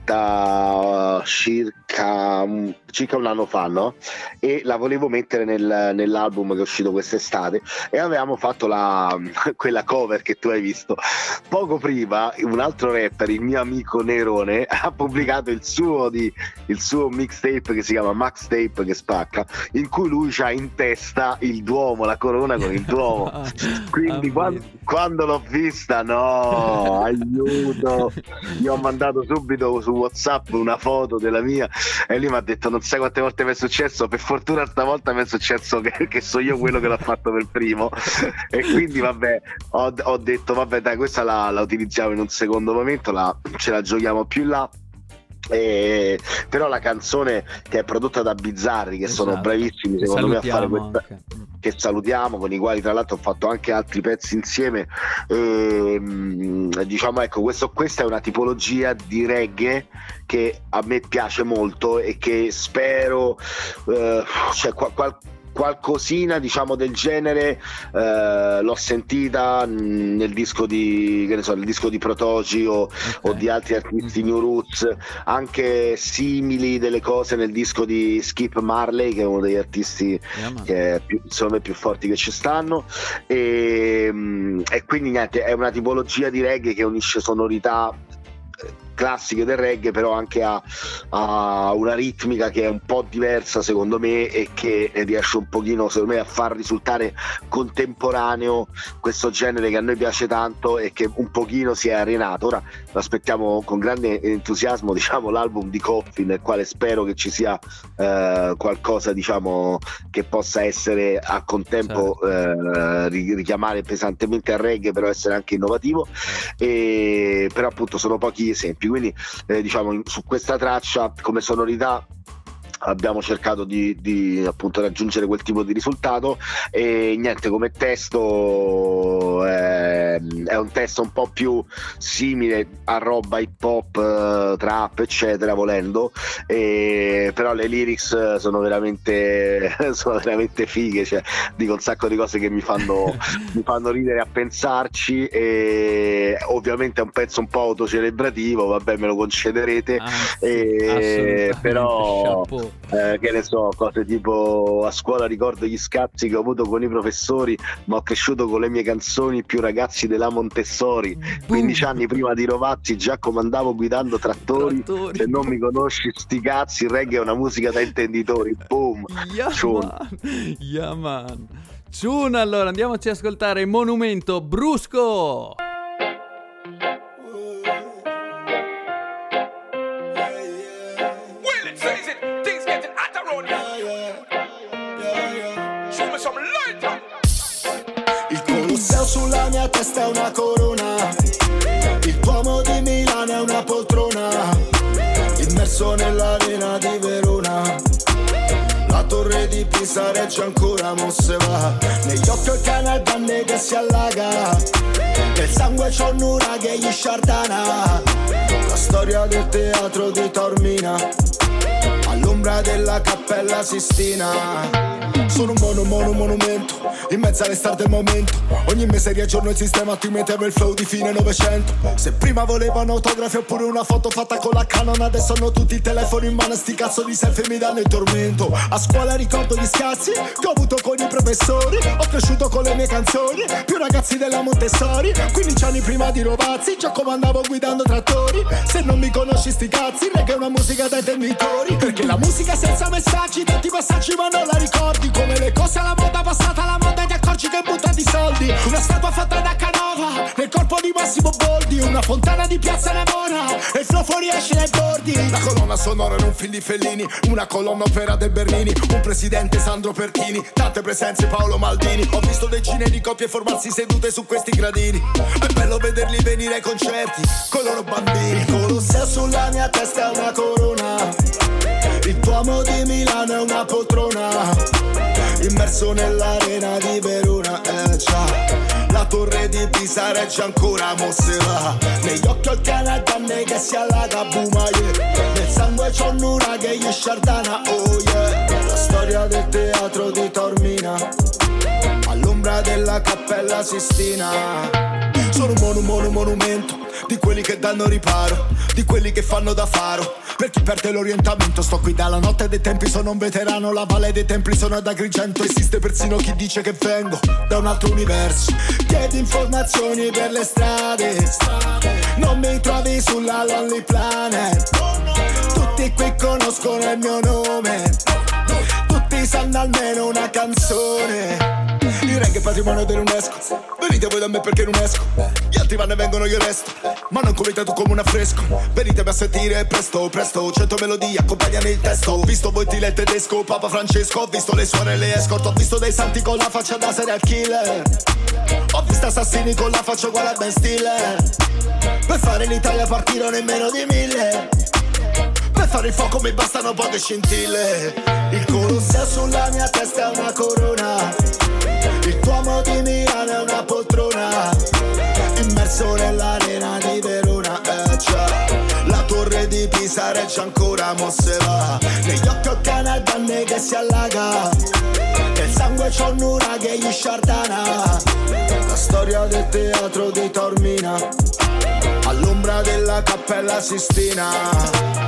scritta circa circa un anno fa, no? E la volevo mettere nel, nell'album che è uscito quest'estate, e avevamo fatto la quella cover che tu hai visto. Poco prima un altro rapper, il mio amico Nerone, ha pubblicato il suo di il suo mixtape che si chiama Max Tape, che spacca, in cui lui c'ha in testa il Duomo, la corona con il Duomo. Quindi quando, quando l'ho vista, no, aiuto, gli ho mandato subito su WhatsApp una foto della mia, e lui mi ha detto non sai quante volte mi è successo, per fortuna stavolta mi è successo che, che so io quello che l'ha fatto per primo. E quindi vabbè, ho, ho detto vabbè dai, questa la, la utilizziamo in un secondo momento, la, ce la giochiamo più in là. Eh, però la canzone, che è prodotta da Bizzarri, che esatto, sono bravissimi secondo me a fare questa anche. Che salutiamo, con i quali tra l'altro ho fatto anche altri pezzi insieme, eh, diciamo ecco questo, questa è una tipologia di reggae che a me piace molto e che spero eh, cioè qual, qual, qualcosina diciamo del genere eh, l'ho sentita nel disco di che ne so, nel disco di Protoci o, okay. o di altri artisti New Roots, anche simili delle cose nel disco di Skip Marley, che è uno degli artisti yeah, che è più, secondo me più forti che ci stanno, e, e quindi niente, è una tipologia di reggae che unisce sonorità classiche del reggae, però anche ha, ha una ritmica che è un po' diversa secondo me e che riesce un pochino secondo me a far risultare contemporaneo questo genere che a noi piace tanto e che un pochino si è arenato. Ora lo aspettiamo con grande entusiasmo, diciamo, l'album di Coffin, nel quale spero che ci sia eh, qualcosa, diciamo, che possa essere a contempo eh, richiamare pesantemente al reggae, però essere anche innovativo, e però appunto sono pochi esempi, quindi eh, diciamo su questa traccia come sonorità abbiamo cercato di, di appunto raggiungere quel tipo di risultato. E niente, come testo eh, è un testo un po' più simile a roba hip hop, eh, trap eccetera, volendo, e, però le lyrics sono veramente sono veramente fighe, cioè dico un sacco di cose che mi fanno mi fanno ridere a pensarci, e ovviamente è un pezzo un po' autocelebrativo, vabbè, me lo concederete. Ah, e, però chapeau. Eh, che ne so, cose tipo a scuola ricordo gli scazzi che ho avuto con i professori, ma ho cresciuto con le mie canzoni più ragazzi della Montessori. quindici anni prima di Rovazzi già comandavo guidando trattori, Trattori. se non mi conosci sti cazzi, il reggae è una musica da intenditori. Boom. Yeah, Ciun. man. Yeah, man. Ciun, allora andiamoci a ascoltare Monumento Brusco. Sulla mia testa è una corona, il Duomo di Milano è una poltrona, immerso nell'arena di Verona, la torre di Pisa regge ancora, mo se va, negli occhi il cane danne che si allaga, nel sangue c'ho un uragano e gli sciardana, la storia del teatro di Taormina, all'ombra della Cappella Sistina. Sono un mono, mono, monumento, in mezzo alle star del momento. Ogni mese riaggiorno il sistema, ti mettevo il flow di fine novecento. Se prima volevano autografi oppure una foto fatta con la Canon, adesso hanno tutti il telefono in mano, sti cazzo di selfie mi danno il tormento. A scuola ricordo gli scazzi che ho avuto con i professori, ho cresciuto con le mie canzoni, più ragazzi della Montessori. quindici anni prima di Rovazzi già comandavo guidando trattori. Se non mi conosci sti cazzi, reggae è una musica da intenditori, perché la musica senza messaggi, tanti passaggi ma non la ricordi. Come le cose alla moda passata, la moda ti accorgi che butta di soldi. Una statua fatta da Canova nel corpo di Massimo Boldi, una fontana di Piazza Navona e il flow fuori esce dai bordi. La colonna sonora in un film di Fellini, una colonna opera del Bernini, un presidente Sandro Pertini, tante presenze Paolo Maldini. Ho visto decine di coppie formarsi sedute su questi gradini, è bello vederli venire ai concerti con i loro bambini. Il Colosseo sulla mia testa è una corona, il Duomo di Milano è una poltrona, immerso nell'arena di Verona, eh già, la torre di Pisa regge ancora, mo se va, negli occhi ho il cane danne che si allaga, buma, yeah. Nel sangue c'ho un uragano e gli sciardana, oh yeah. La storia del teatro di Taormina, all'ombra della Cappella Sistina. Sono un mono, mono, monumento, di quelli che danno riparo, di quelli che fanno da faro, per chi perde l'orientamento. Sto qui dalla notte dei tempi, sono un veterano, la valle dei templi sono ad Agrigento. Esiste persino chi dice che vengo da un altro universo. Chiedi informazioni per le strade, non mi trovi sulla Lonely Planet. Tutti qui conoscono il mio nome, tutti sanno almeno una canzone. Il reggae è patrimonio dell'UNESCO, venite voi da me perché non esco. Gli altri vanno e vengono, io resto, ma non come tu come un affresco. Venitemi a sentire presto, presto, cento melodie accompagnano il testo. Ho visto Wojtyla il tedesco, Papa Francesco, ho visto le suore e le escort. Ho visto dei santi con la faccia da serial killer, ho visto assassini con la faccia uguale a Ben Stiller. Per fare l'Italia partirono in meno di mille, per fare il fuoco mi bastano poche scintille. Il Colosseo sulla mia testa è una corona, il Duomo di Milano è una poltrona, immerso nell'arena di Verona, eh già, la torre di Pisa regge ancora, mo se va, negli occhi ho cane danne che si allaga, nel sangue c'ho un uragano e gli sciardana. La storia del teatro di Taormina, all'ombra della Cappella Sistina.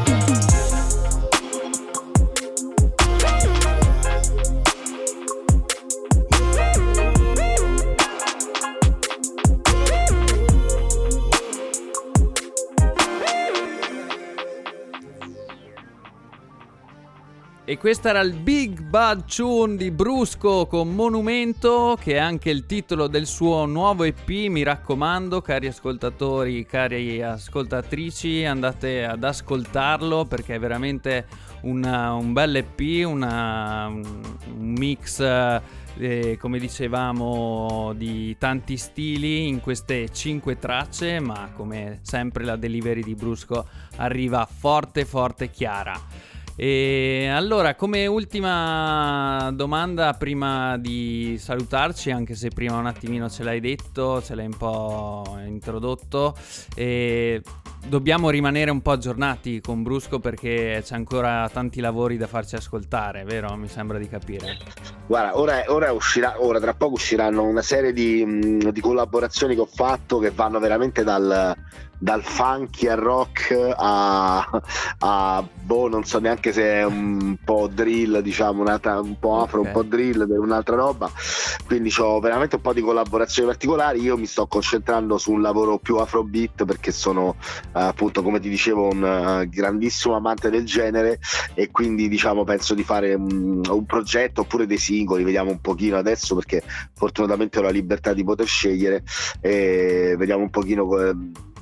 E questo era il Big Bad Tune di Brusco con Monumento, che è anche il titolo del suo nuovo E P. Mi raccomando, cari ascoltatori, cari ascoltatrici, andate ad ascoltarlo perché è veramente una, un bel E P, una, un mix, eh, come dicevamo, di tanti stili in queste cinque tracce, ma come sempre la delivery di Brusco arriva forte forte chiara. E allora, come ultima domanda prima di salutarci, anche se prima un attimino ce l'hai detto, ce l'hai un po' introdotto, e dobbiamo rimanere un po' aggiornati con Brusco perché c'è ancora tanti lavori da farci ascoltare, vero? Mi sembra di capire. Guarda, ora, ora uscirà, ora tra poco usciranno una serie di, di collaborazioni che ho fatto che vanno veramente dal, dal funky al rock a, a boh, non so neanche se è un po' drill, diciamo, una, un po' afro, okay, un po' drill, un'altra roba. Quindi ho veramente un po' di collaborazioni particolari. Io mi sto concentrando su un lavoro più afrobeat perché sono appunto, come ti dicevo, un uh, grandissimo amante del genere, e quindi diciamo penso di fare un, un progetto oppure dei singoli, vediamo un pochino adesso perché fortunatamente ho la libertà di poter scegliere, e vediamo un pochino eh,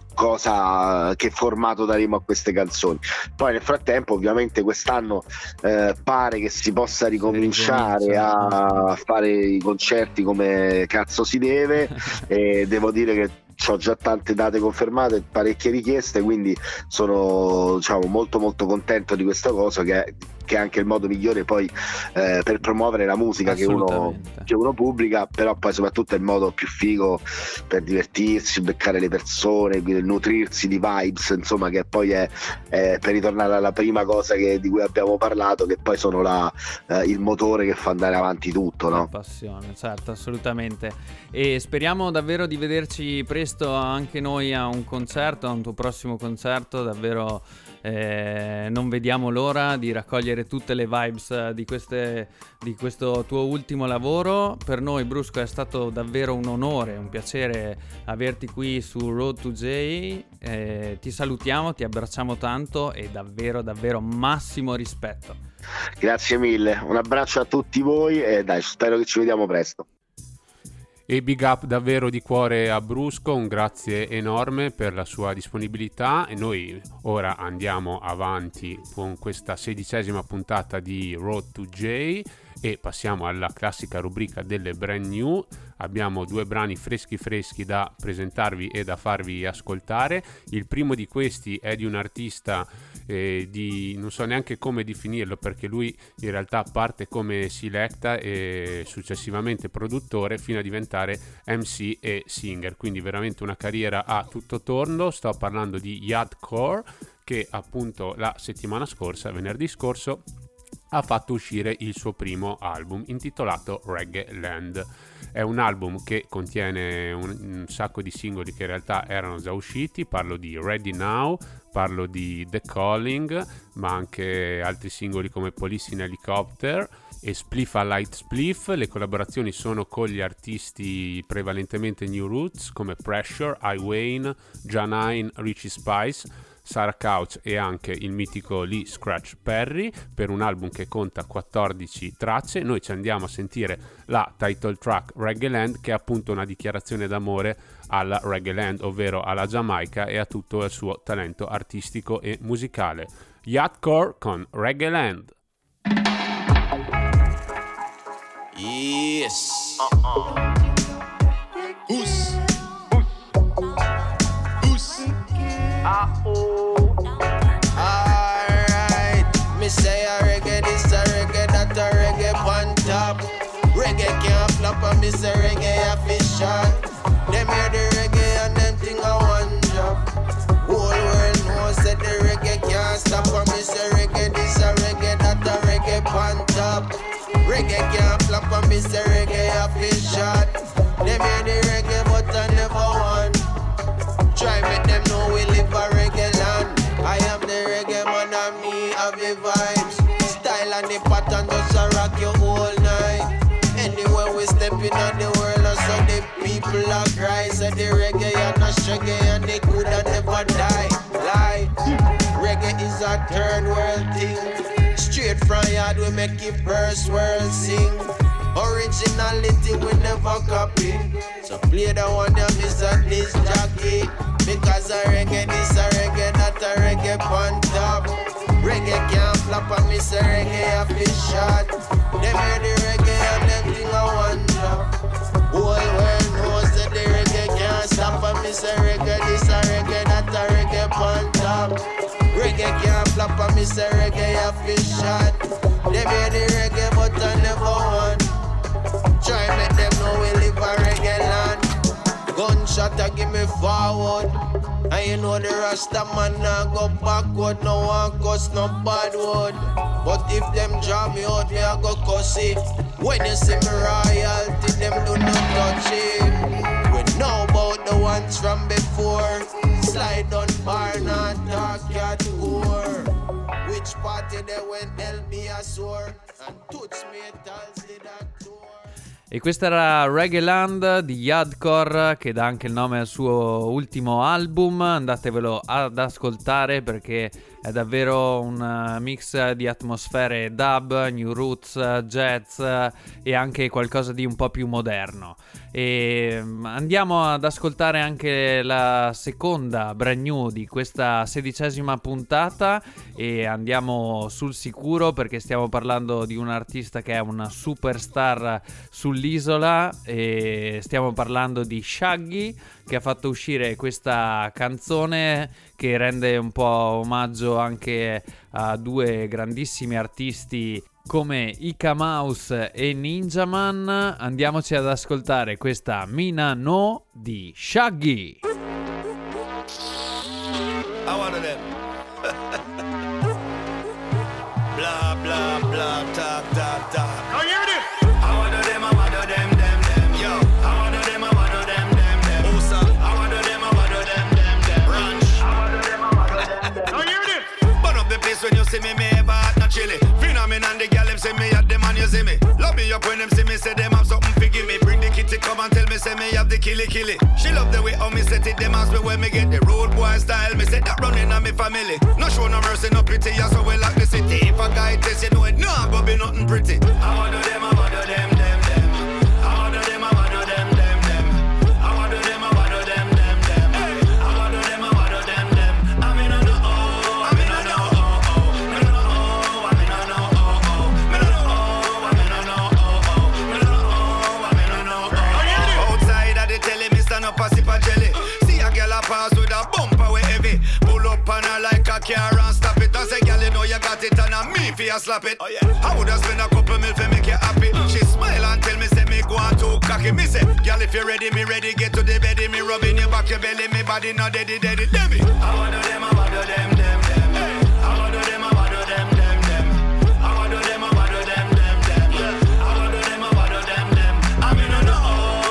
cosa, che formato daremo a queste canzoni. Poi nel frattempo ovviamente quest'anno eh, pare che si possa ricominciare a fare i concerti come cazzo si deve e devo dire che ho già tante date confermate, parecchie richieste, quindi sono, diciamo, molto molto contento di questa cosa, che è, che è anche il modo migliore poi eh, per promuovere la musica che uno, che uno pubblica, però poi soprattutto è il modo più figo per divertirsi, beccare le persone, nutrirsi di vibes, insomma, che poi è, è per ritornare alla prima cosa che, di cui abbiamo parlato, che poi sono la, eh, il motore che fa andare avanti tutto, no? La passione, certo, assolutamente. E speriamo davvero di vederci presto anche noi a un concerto, a un tuo prossimo concerto. Davvero eh, non vediamo l'ora di raccogliere tutte le vibes di, queste, di questo tuo ultimo lavoro. Per noi, Brusco, è stato davvero un onore, un piacere averti qui su Road to J. Eh, ti salutiamo, ti abbracciamo tanto e davvero davvero massimo rispetto. Grazie mille, un abbraccio a tutti voi e dai, spero che ci vediamo presto. E big up davvero di cuore a Brusco, un grazie enorme per la sua disponibilità, e noi ora andiamo avanti con questa sedicesima puntata di Road to J e passiamo alla classica rubrica delle brand new. Abbiamo due brani freschi freschi da presentarvi e da farvi ascoltare. Il primo di questi è di un artista eh, di non so neanche come definirlo, perché lui in realtà parte come selecta e successivamente produttore fino a diventare M C e singer, quindi veramente una carriera a tutto tondo. Sto parlando di Yardcore, che appunto la settimana scorsa, venerdì scorso, ha fatto uscire il suo primo album intitolato Reggae Land. È un album che contiene un, un sacco di singoli che in realtà erano già usciti. Parlo di Ready Now, parlo di The Calling, ma anche altri singoli come Police in Helicopter e Spliff a Light Spliff. Le collaborazioni sono con gli artisti prevalentemente New Roots come Pressure, I Wayne, Janine, Richie Spice, Sarah Couch e anche il mitico Lee Scratch Perry, per un album che conta quattordici tracce. Noi ci andiamo a sentire la title track Reggae Land, che è appunto una dichiarazione d'amore alla Reggae Land, ovvero alla Giamaica e a tutto il suo talento artistico e musicale. Yardcore con Reggae Land. Yes. Uh-uh. Who's alright, me say a reggae, this a reggae, that a reggae on top. Reggae can't flop, and me say reggae a fish shot. Them hear the reggae and them think I one drop. Whole world knows that the reggae can't stop, and me say reggae, this a reggae, that a reggae on top. Reggae can't flop, and me say reggae a fish shot. Them hear the reggae, but I never won. Try make them know we live a reggae land. I am the reggae man and me have the vibes. Style and the pattern just a rock you all night. Anywhere we step in on the world, and so the people are cry. Say the reggae and a shaggy and they could have never die. Lie, reggae is a third world thing. Straight different yard, we make it first world sing. Originality we never copy. So play the one that miss a this jockey. Because a reggae, this a reggae, not a reggae on top. Reggae can't flop and miss a reggae off his shot. They made the reggae and them thing a one drop. Whole world knows that the reggae can't stop and miss a reggae, this a reggae, not a reggae on top. Reggae can't flop and miss a reggae off his shot. They made the reggae but I never won. Try make them know we live a reggae land. Gunshot a give me forward. And you know the Rasta man nah go backward. No one cuss no bad word. But if them draw me out, me a go cuss it. When you see me royalty, them do not touch it. We know about the ones from before. Slide on bar, not talk at core. Which party they went L B a sore. And touch metals did a tour. E questa era Reggae Land di Yardcore, che dà anche il nome al suo ultimo album. Andatevelo ad ascoltare perché è davvero un mix di atmosfere dub, new roots, jazz e anche qualcosa di un po' più moderno. E andiamo ad ascoltare anche la seconda brand new di questa sedicesima puntata e andiamo sul sicuro perché stiamo parlando di un artista che è una superstar sull'isola e stiamo parlando di Shaggy, che ha fatto uscire questa canzone che rende un po' omaggio anche a due grandissimi artisti come Ika Mouse e Ninjaman. Andiamoci ad ascoltare questa Mina No di Shaggy. I wanted them. Blah blah blah talk talk talk. Oh, you heard it? I wanted them, I wanted them, them them. Yo, I wanted them, I wanted them, them them. Usa, I wanted them, I wanted them, them them. Ranch, I wanted them, I wanted them, them. Oh, you heard it? Burn up the place when you see me, me ever hot not chilly. And the girl them say me at them and you see me. Love me up when them see me, say them have something to give me. Bring the kitty come and tell me, say me have the killy killy. She love the way how me set it, them ask me where me get the road boy style. Me say that running on me family. No show no mercy, no pity, yeah, so we like the city. If a guy test you know it, nah, go be nothing pretty. I want to them, I want to them, them, them. I want to them, I want to them, them, them. I want to them, I want to them, them, them. I want to them, I want to them, them. I mean I know, oh, I mean I know, oh, oh. I mean I know, oh, I mean I know. Pass with a bumper we heavy. Pull up on her like a car and stop it. I say, girl, you know you got it and I'm me for you slap it. Oh, yeah. I would have spent a couple mil for make you happy. She smile and tell me, say me go on too cocky. Me say, girl, if you ready, me ready. Get to the bed, me rubbing your back, your belly. Me body not deady, deady, deady. I want to them, I want to them, them, them. I want to them, I want to them, them, them. I want to them, I want to them, them, them. I want to them, I want to them, them. I mean, I know.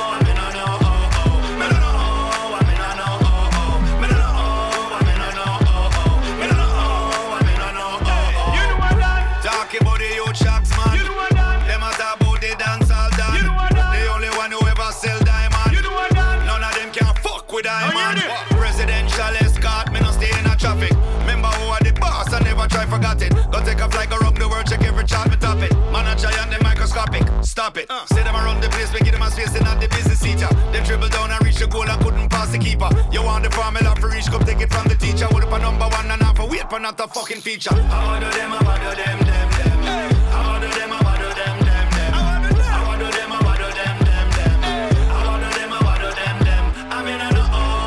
Forgot it. Go take a flight, go around the world, check every chart, me top it. Man a giant, they microscopic. Stop it. Uh. Say them around the place, we give them a space, they not the business teacher. Them dribble down and reach the goal and couldn't pass the keeper. You want the formula for reach, come take it from the teacher. Would up a number one and half a wait for not a fucking feature. I want to them, I want to them, them, them. Hey. I want to them, I want to them, them, them. I want to them, I want to them, I want to them, them, them. Hey. I want to them, I want to them, them. I mean I know.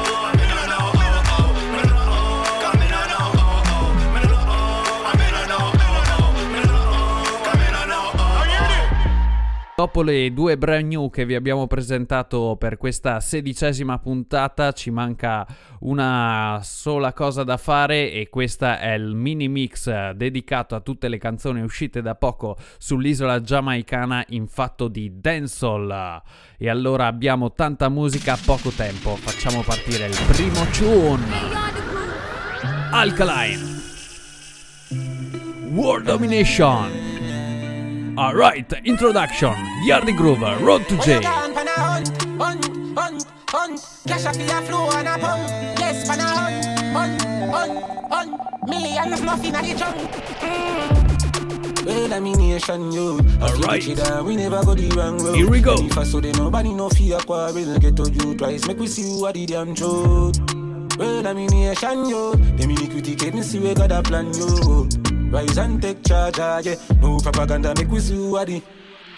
Dopo le due brand new che vi abbiamo presentato per questa sedicesima puntata ci manca una sola cosa da fare e questa è il mini mix dedicato a tutte le canzoni uscite da poco sull'isola giamaicana in fatto di dancehall. E allora abbiamo tanta musica, poco tempo, facciamo partire il primo tune. Alkaline World Domination. Alright, introduction, Yardy Groove, Road to J. Cash off your flow and a pump. Yes, pan a hunt, hunt, hunt, hunt. Millions nothing at the trunk. Well, I mean, nation, yo. Alright. We never go the wrong road. Here we go. If I saw the nobody no fear quarrel, get to you twice. Make we see who are the damn truth. Well, I mean, nation, yo. Them iniquity can't me see we got a plan, yo. Rise and take charge, ah, yeah. No propaganda, make we see who are the.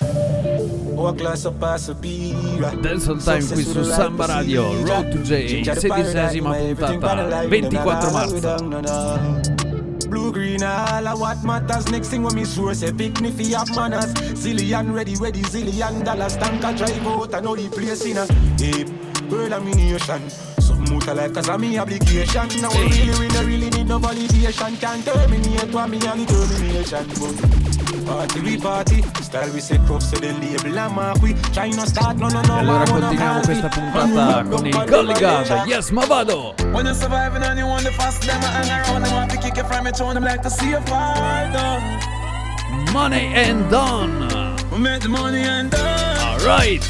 Dancehall Time qui su Samba Radio, Road to J, sedicesima puntata, ventiquattro marzo. Blue green all of what matters. Next thing when me sure say pick me fi have manners. Zillion ready ready zillion dollars. Tank a drive out and know the place in a hey, world of me nation. Something out of life cause of me obligation. Now hey. really really really need no validation. Can't terminate what me and determination. Party we party, style we say crop say the label and mark we try no start no no no. E allora continuiamo questa puntata con il collegato. Yes, ma vado. When you're surviving and you want the fast them hang around and want to kick it from it on them like to see a fire done. Money and done. We make the money and done. Alright.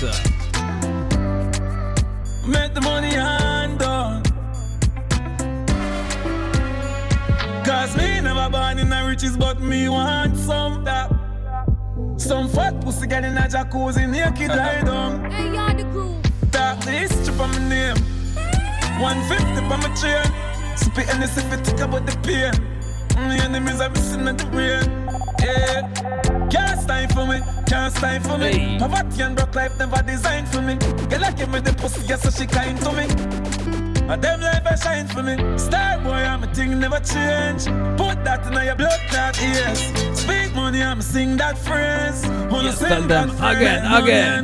Make the money and done. Cause me never born in the riches, but me want some that. Some fat pussy get in a jacuzzi, naked lie down. Hey, you're the groove. Tap the history for my name. one fifty for my chain. Spit in the city, think about the pain. My enemies are missing at the rain. Yeah. Can't stand for me, can't stand for me. Hey. Poverty and broke life never designed for me. Girl, give me the pussy, yes, so she kind to me. And them life I shine for me. Star boy, I'm a thing never change. Put that in your blood clot ears. Speak money, I'm sing that phrase. Yes, tell them again, again.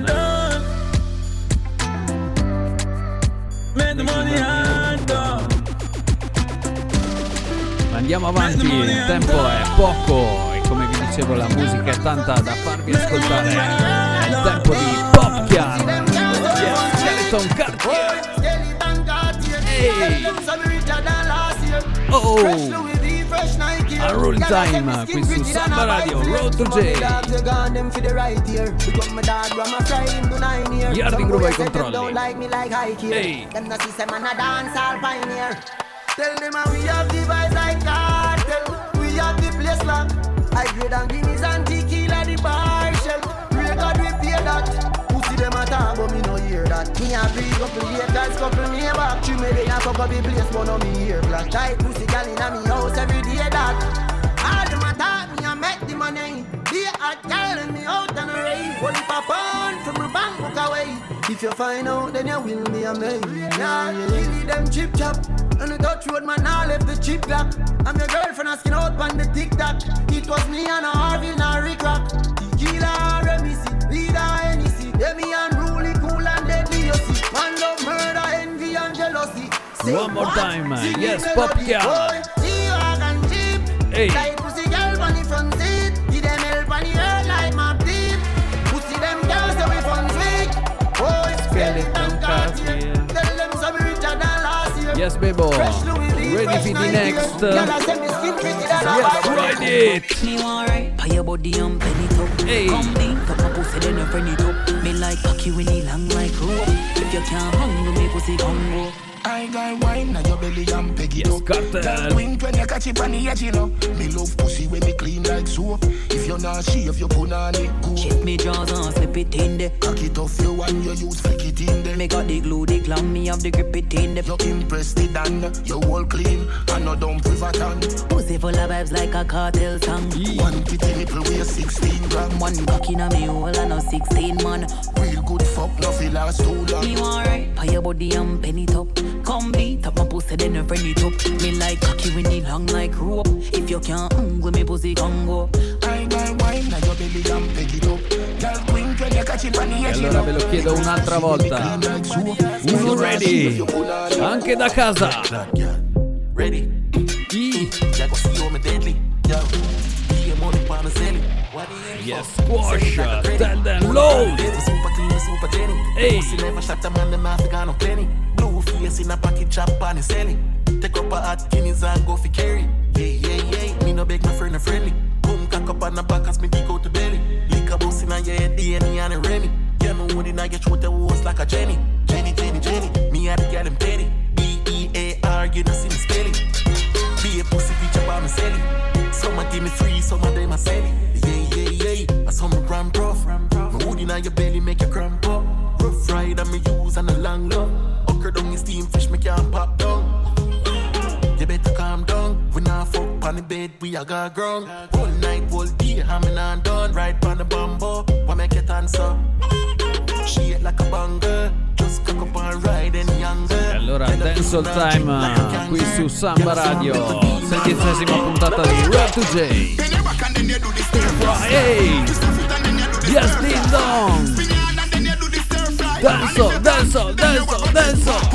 Make the money and done. Andiamo avanti, il tempo è poco e come vi dicevo la musica è tanta da farvi ascoltare. È il tempo di Popcaan. Yes, Skeleton Cartier. Hey. Oh, a roll time qui su Samba Radio, Road to J. Yardi Groove ai controlli. Ehi. Tell them how we have the vibes like cartel. We have the place locked. I grade and guineas and tequila the bar shell. Record we pay that. Pussy them a talk but me no hear that. Me a big couple haters, couple me back. Three me they a fuck up the place but no me hear black. Tight pussy gal inna me house every day that. All them a talk me a make the money. They a calling me out on a raid. Only for pound from my bank book away. If you find out then you will be amazed. Yeah, you need them chip chop. On the Dutch road, man, I left the chip lock. I'm your girlfriend asking out on the TikTok. It was me and a Harvey and a Rick Rock. Tequila, Remisi, Vida, Hennessy. Demi unruly, cool and deadly, you see. Man love murder, envy and jealousy. Say one more time, man. Yes, Popcaan. Hey. Like pussy girl on the front seat. Give them help on the earth like my deep. Pussy them girls away from sweet. Oh, it's Skeleton Cartier. Tell them some richer than last year. Yes, Bebo. Ready for the next. Yes, ride it. Me want right, pay your body and penny top. Hey. Come in, come up, pussy, then you friend it up. Me like cocky when he long like rope. If you can't hang with me, pussy, come go. I got wine now your belly and peg it yes, up. Cartel. Wink when you catch it on the edge, you know. Me love pussy when me clean like soap. If you're not shave, you put on it good. Check me jaws and slip it in there. Cock it off you and you use flick it in there. Me got the glue, the clown, me have the grip it in there. You impressed it and you all clean and no dumb pivot on. Pussy full of vibes like a cartel song. Yeah. One titty nipple weigh sixteen gram. One cock in a me hole and a sixteen man. Real good fuck, no feel last too long. Me want right, pay your body and penny top. Come beat up my pussy, then you friend it up. Me like cocky when it long like rope. If you can't hang with me, pussy can go. I got wine now your belly and peg it up. Girl wink when you catch it on the edge. E allora ve lo chiedo un'altra volta. Uno ready, anche da casa. Ready. I. Yes, squash, tell them load. Hey. Blue face in a pocket chop and selling. Take up a hot guineas and go for carry. Yeah, yeah, yeah. Me no beg my friend a friendly. Come cock up on the back as me dig out the belly. Lick a bus in a your head, D N A and a Remy. You know when I get throat the walls like a Jenny. Jenny, Jenny, Jenny. Me had the girl them petty. B E A R, you know see me spelling. Be a pussy bitch up on me selling. Some of give me free, some of them are selling. Yeah, on your belly, make you cramp up. Rough ride and me use and a long love. Okra down your steam fish, me can't pop down. You better calm down. We not fuck on the bed, we a got ground. Whole night, whole day, hamming and done. Ride on the bamboo, what make it answer? She hit like a banger. Just cock up and ride and younger. E allora Dancehall Time qui su Samba Radio, sedicesima puntata di Road to J. Hey! Yes, ding dong! Dancehall, dancehall, dancehall, dancehall!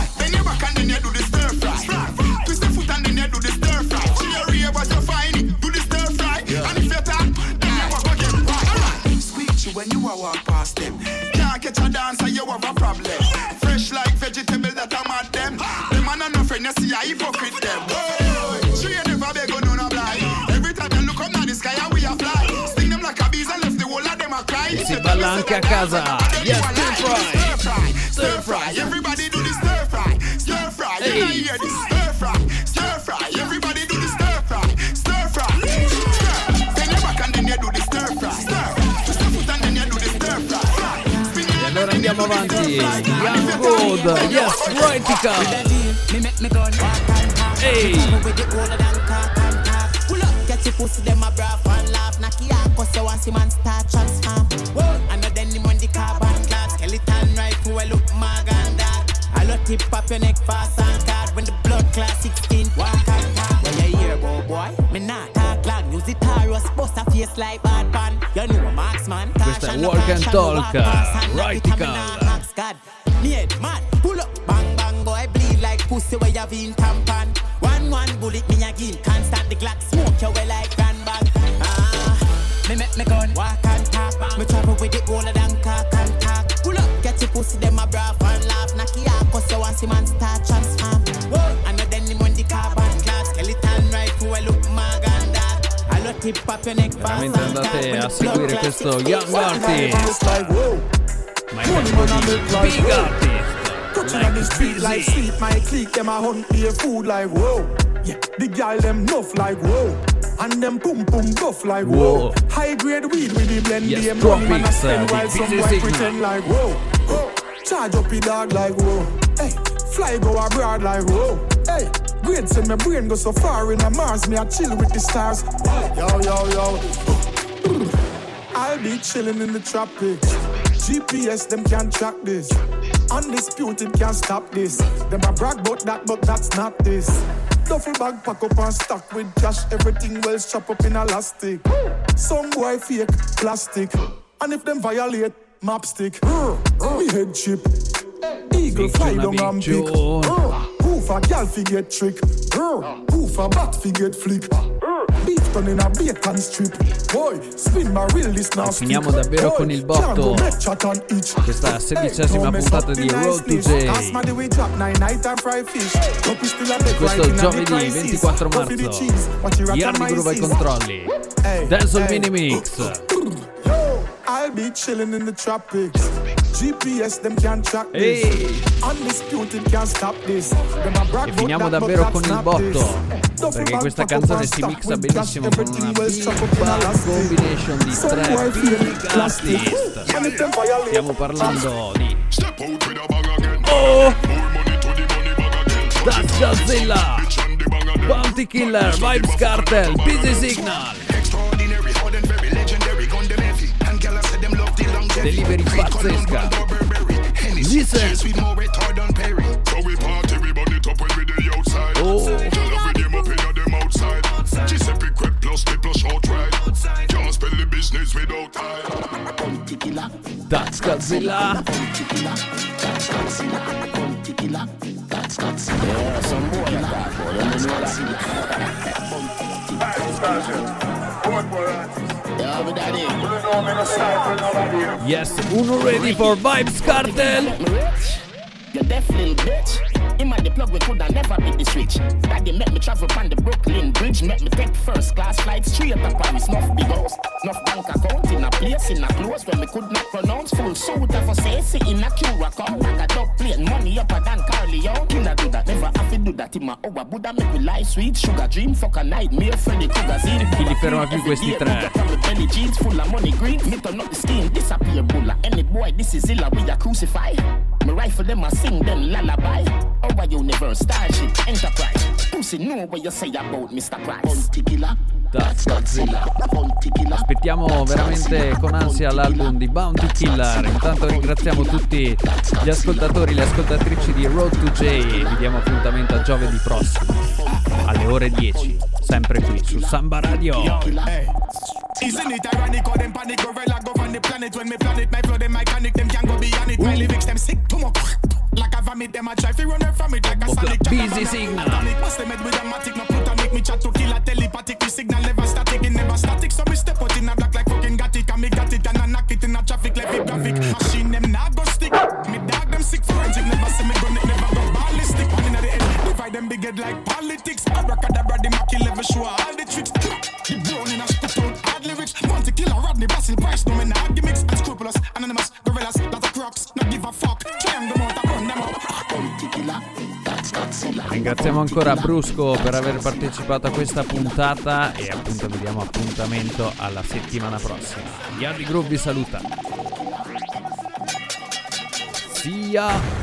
When you a walk past them, can't catch a dancer, you have a problem. Fresh like vegetable that I'm at them. Them man and no friend, you see a hypocrite them. Oh, she ain't never beg on no blind. Every time you look up now the sky and we a fly. Sting them like a bees and left the whole of them a cry. Si balla anche a casa. Yes, stir fry. Stir fry. Everybody do the stir fry. Stir fry. You don't hear this. Stir fry. Stir fry. Everybody do the stir fry. Stir fry. Then you back and then you do the stir fry. Stir fry. Allora andiamo avanti. Young Road, yes, Rightica. Hey. Pull up, get your pussy, them a brav and laugh. Knock your ass, cause you want see man start transform. I know then him on the carbon glass. Skeleton rifle, well look mag and that. I love tip up your neck fast and card. When the blood class sixteen, walk and talk. When you hear about boy, me not talk long. Use the Taurus, bust a face like bad pan. You know a marksman. Questa è Walk and Talk, Rightica. Need man, pull up, bang bang, boy bleed like pussy where you been tampon. One one bullet me again, can't start the Glock, smoke you way like grand bag. Ah, me make me gun, walk and talk. Me travel with it older than cock and talk. Pull up, get your pussy, them a brav and laugh. Knock your ass, cause you want see man start transform. And then him on the carbon glass, skeleton rifle, well look mag and that. I love tip up your neck fast. Veramente andate a seguire questo Young Artist. My big artist. Touching on the street like sleep, my clique, them a hunt their food like whoa. Yeah, the girl them nuff like whoa. And them pum pum buff like whoa. whoa. High grade weed with the blend, yes, them money man a spend while some boy pretend like whoa. whoa. Charge up the dog like whoa. Hey, fly go abroad like whoa. Hey, great send my brain go so far in a Mars, me a chill with the stars. Yo yo yo. I'll be chilling in the tropics. G P S, them can't track this. Undisputed, can't stop this. Them a brag about that, but that's not this. Duffel bag pack up and stock with cash. Everything well strap up in elastic. Some boy fake plastic. And if them violate, map stick. Me head chip. Eagle fly down and pick. Poof a gal fi get trick. Poof a bat fi get flick. Beef done in a bacon strip. Boy, spin my reel this now. Finiamo davvero con il botto. Questa sedicesima puntata di Road to J. Questo giovedì ventiquattro marzo. Yardi Groove ai controlli. Dancehall Mini Mix. I'll be chilling in the tropics. G P S them can't track this. Hey. Undisputed can't stop this. E finiamo davvero con il botto, perché questa canzone si mixa benissimo con una big bang combination di tre big artist. Stiamo parlando di Oh! That's Godzilla, Bounty Killer, Vybz Kartel, Busy Signal. Delivery pazzesca. Listen. Oh. That's Godzilla. Yes, uno ready for Vybz Kartel. You deaf little bitch. Him and the plug we coulda never beat the switch. Daddy make me travel on the Brooklyn Bridge, make me take first class flight straight to Paris. Enough big house, enough bank account in a place in a close when me could not pronounce. Full suit of a say in a Curacao. Like a dog plane, money up a Dan Carleon. Killer do that, never have to do that in my over Buddha. Make me life sweet, sugar dream, fuck a nightmare, Freddy Krueger. Chi li ferma più questi tre? Belly jeans full of money green, me turn up the skin, disappear bulla. Any boy, this is illa, we a crucify. Me rifle them, I sing them lullaby. Our universe, Starship, Enterprise. Pussy know what you say about mister Price. Bounty killer, that's Godzilla. Bounty killer. Aspettiamo veramente con ansia l'album di Bounty Killer. Intanto ringraziamo tutti gli ascoltatori, le ascoltatrici di Road to J e vi diamo appuntamento a giovedì prossimo alle ore dieci, sempre qui su Samba Radio. Isn't it ironic how them panic gorilla go on the planet when me planet my flow them mechanic them can go beyond it. My lyrics them sick to mo like a vomit them a try fi run from it like a sonic. Busy signal. Must them with a matic no put on make me chat to kill a telepathic. The signal never static, it never static. So me step out in a black like fucking got it and me got it and I knock it in a traffic like a graphic. Machine them not go stick. Me dog them sick forensic never see me gun it never go ballistic. One in the end divide them big head like politics. Abracadabra the Machi level show all the tricks. The brown in a spit out hard lyrics. Monte killer Rodney Basil Price no me not gimmicks. Unscrupulous anonymous gorillas lot of crocs not give a fuck. Climb them out burn them up. Monte killer that's Godzilla. Ringraziamo ancora Brusco per aver partecipato a questa puntata e appunto vi diamo appuntamento alla settimana prossima. Yardi Groove vi saluta. See ya!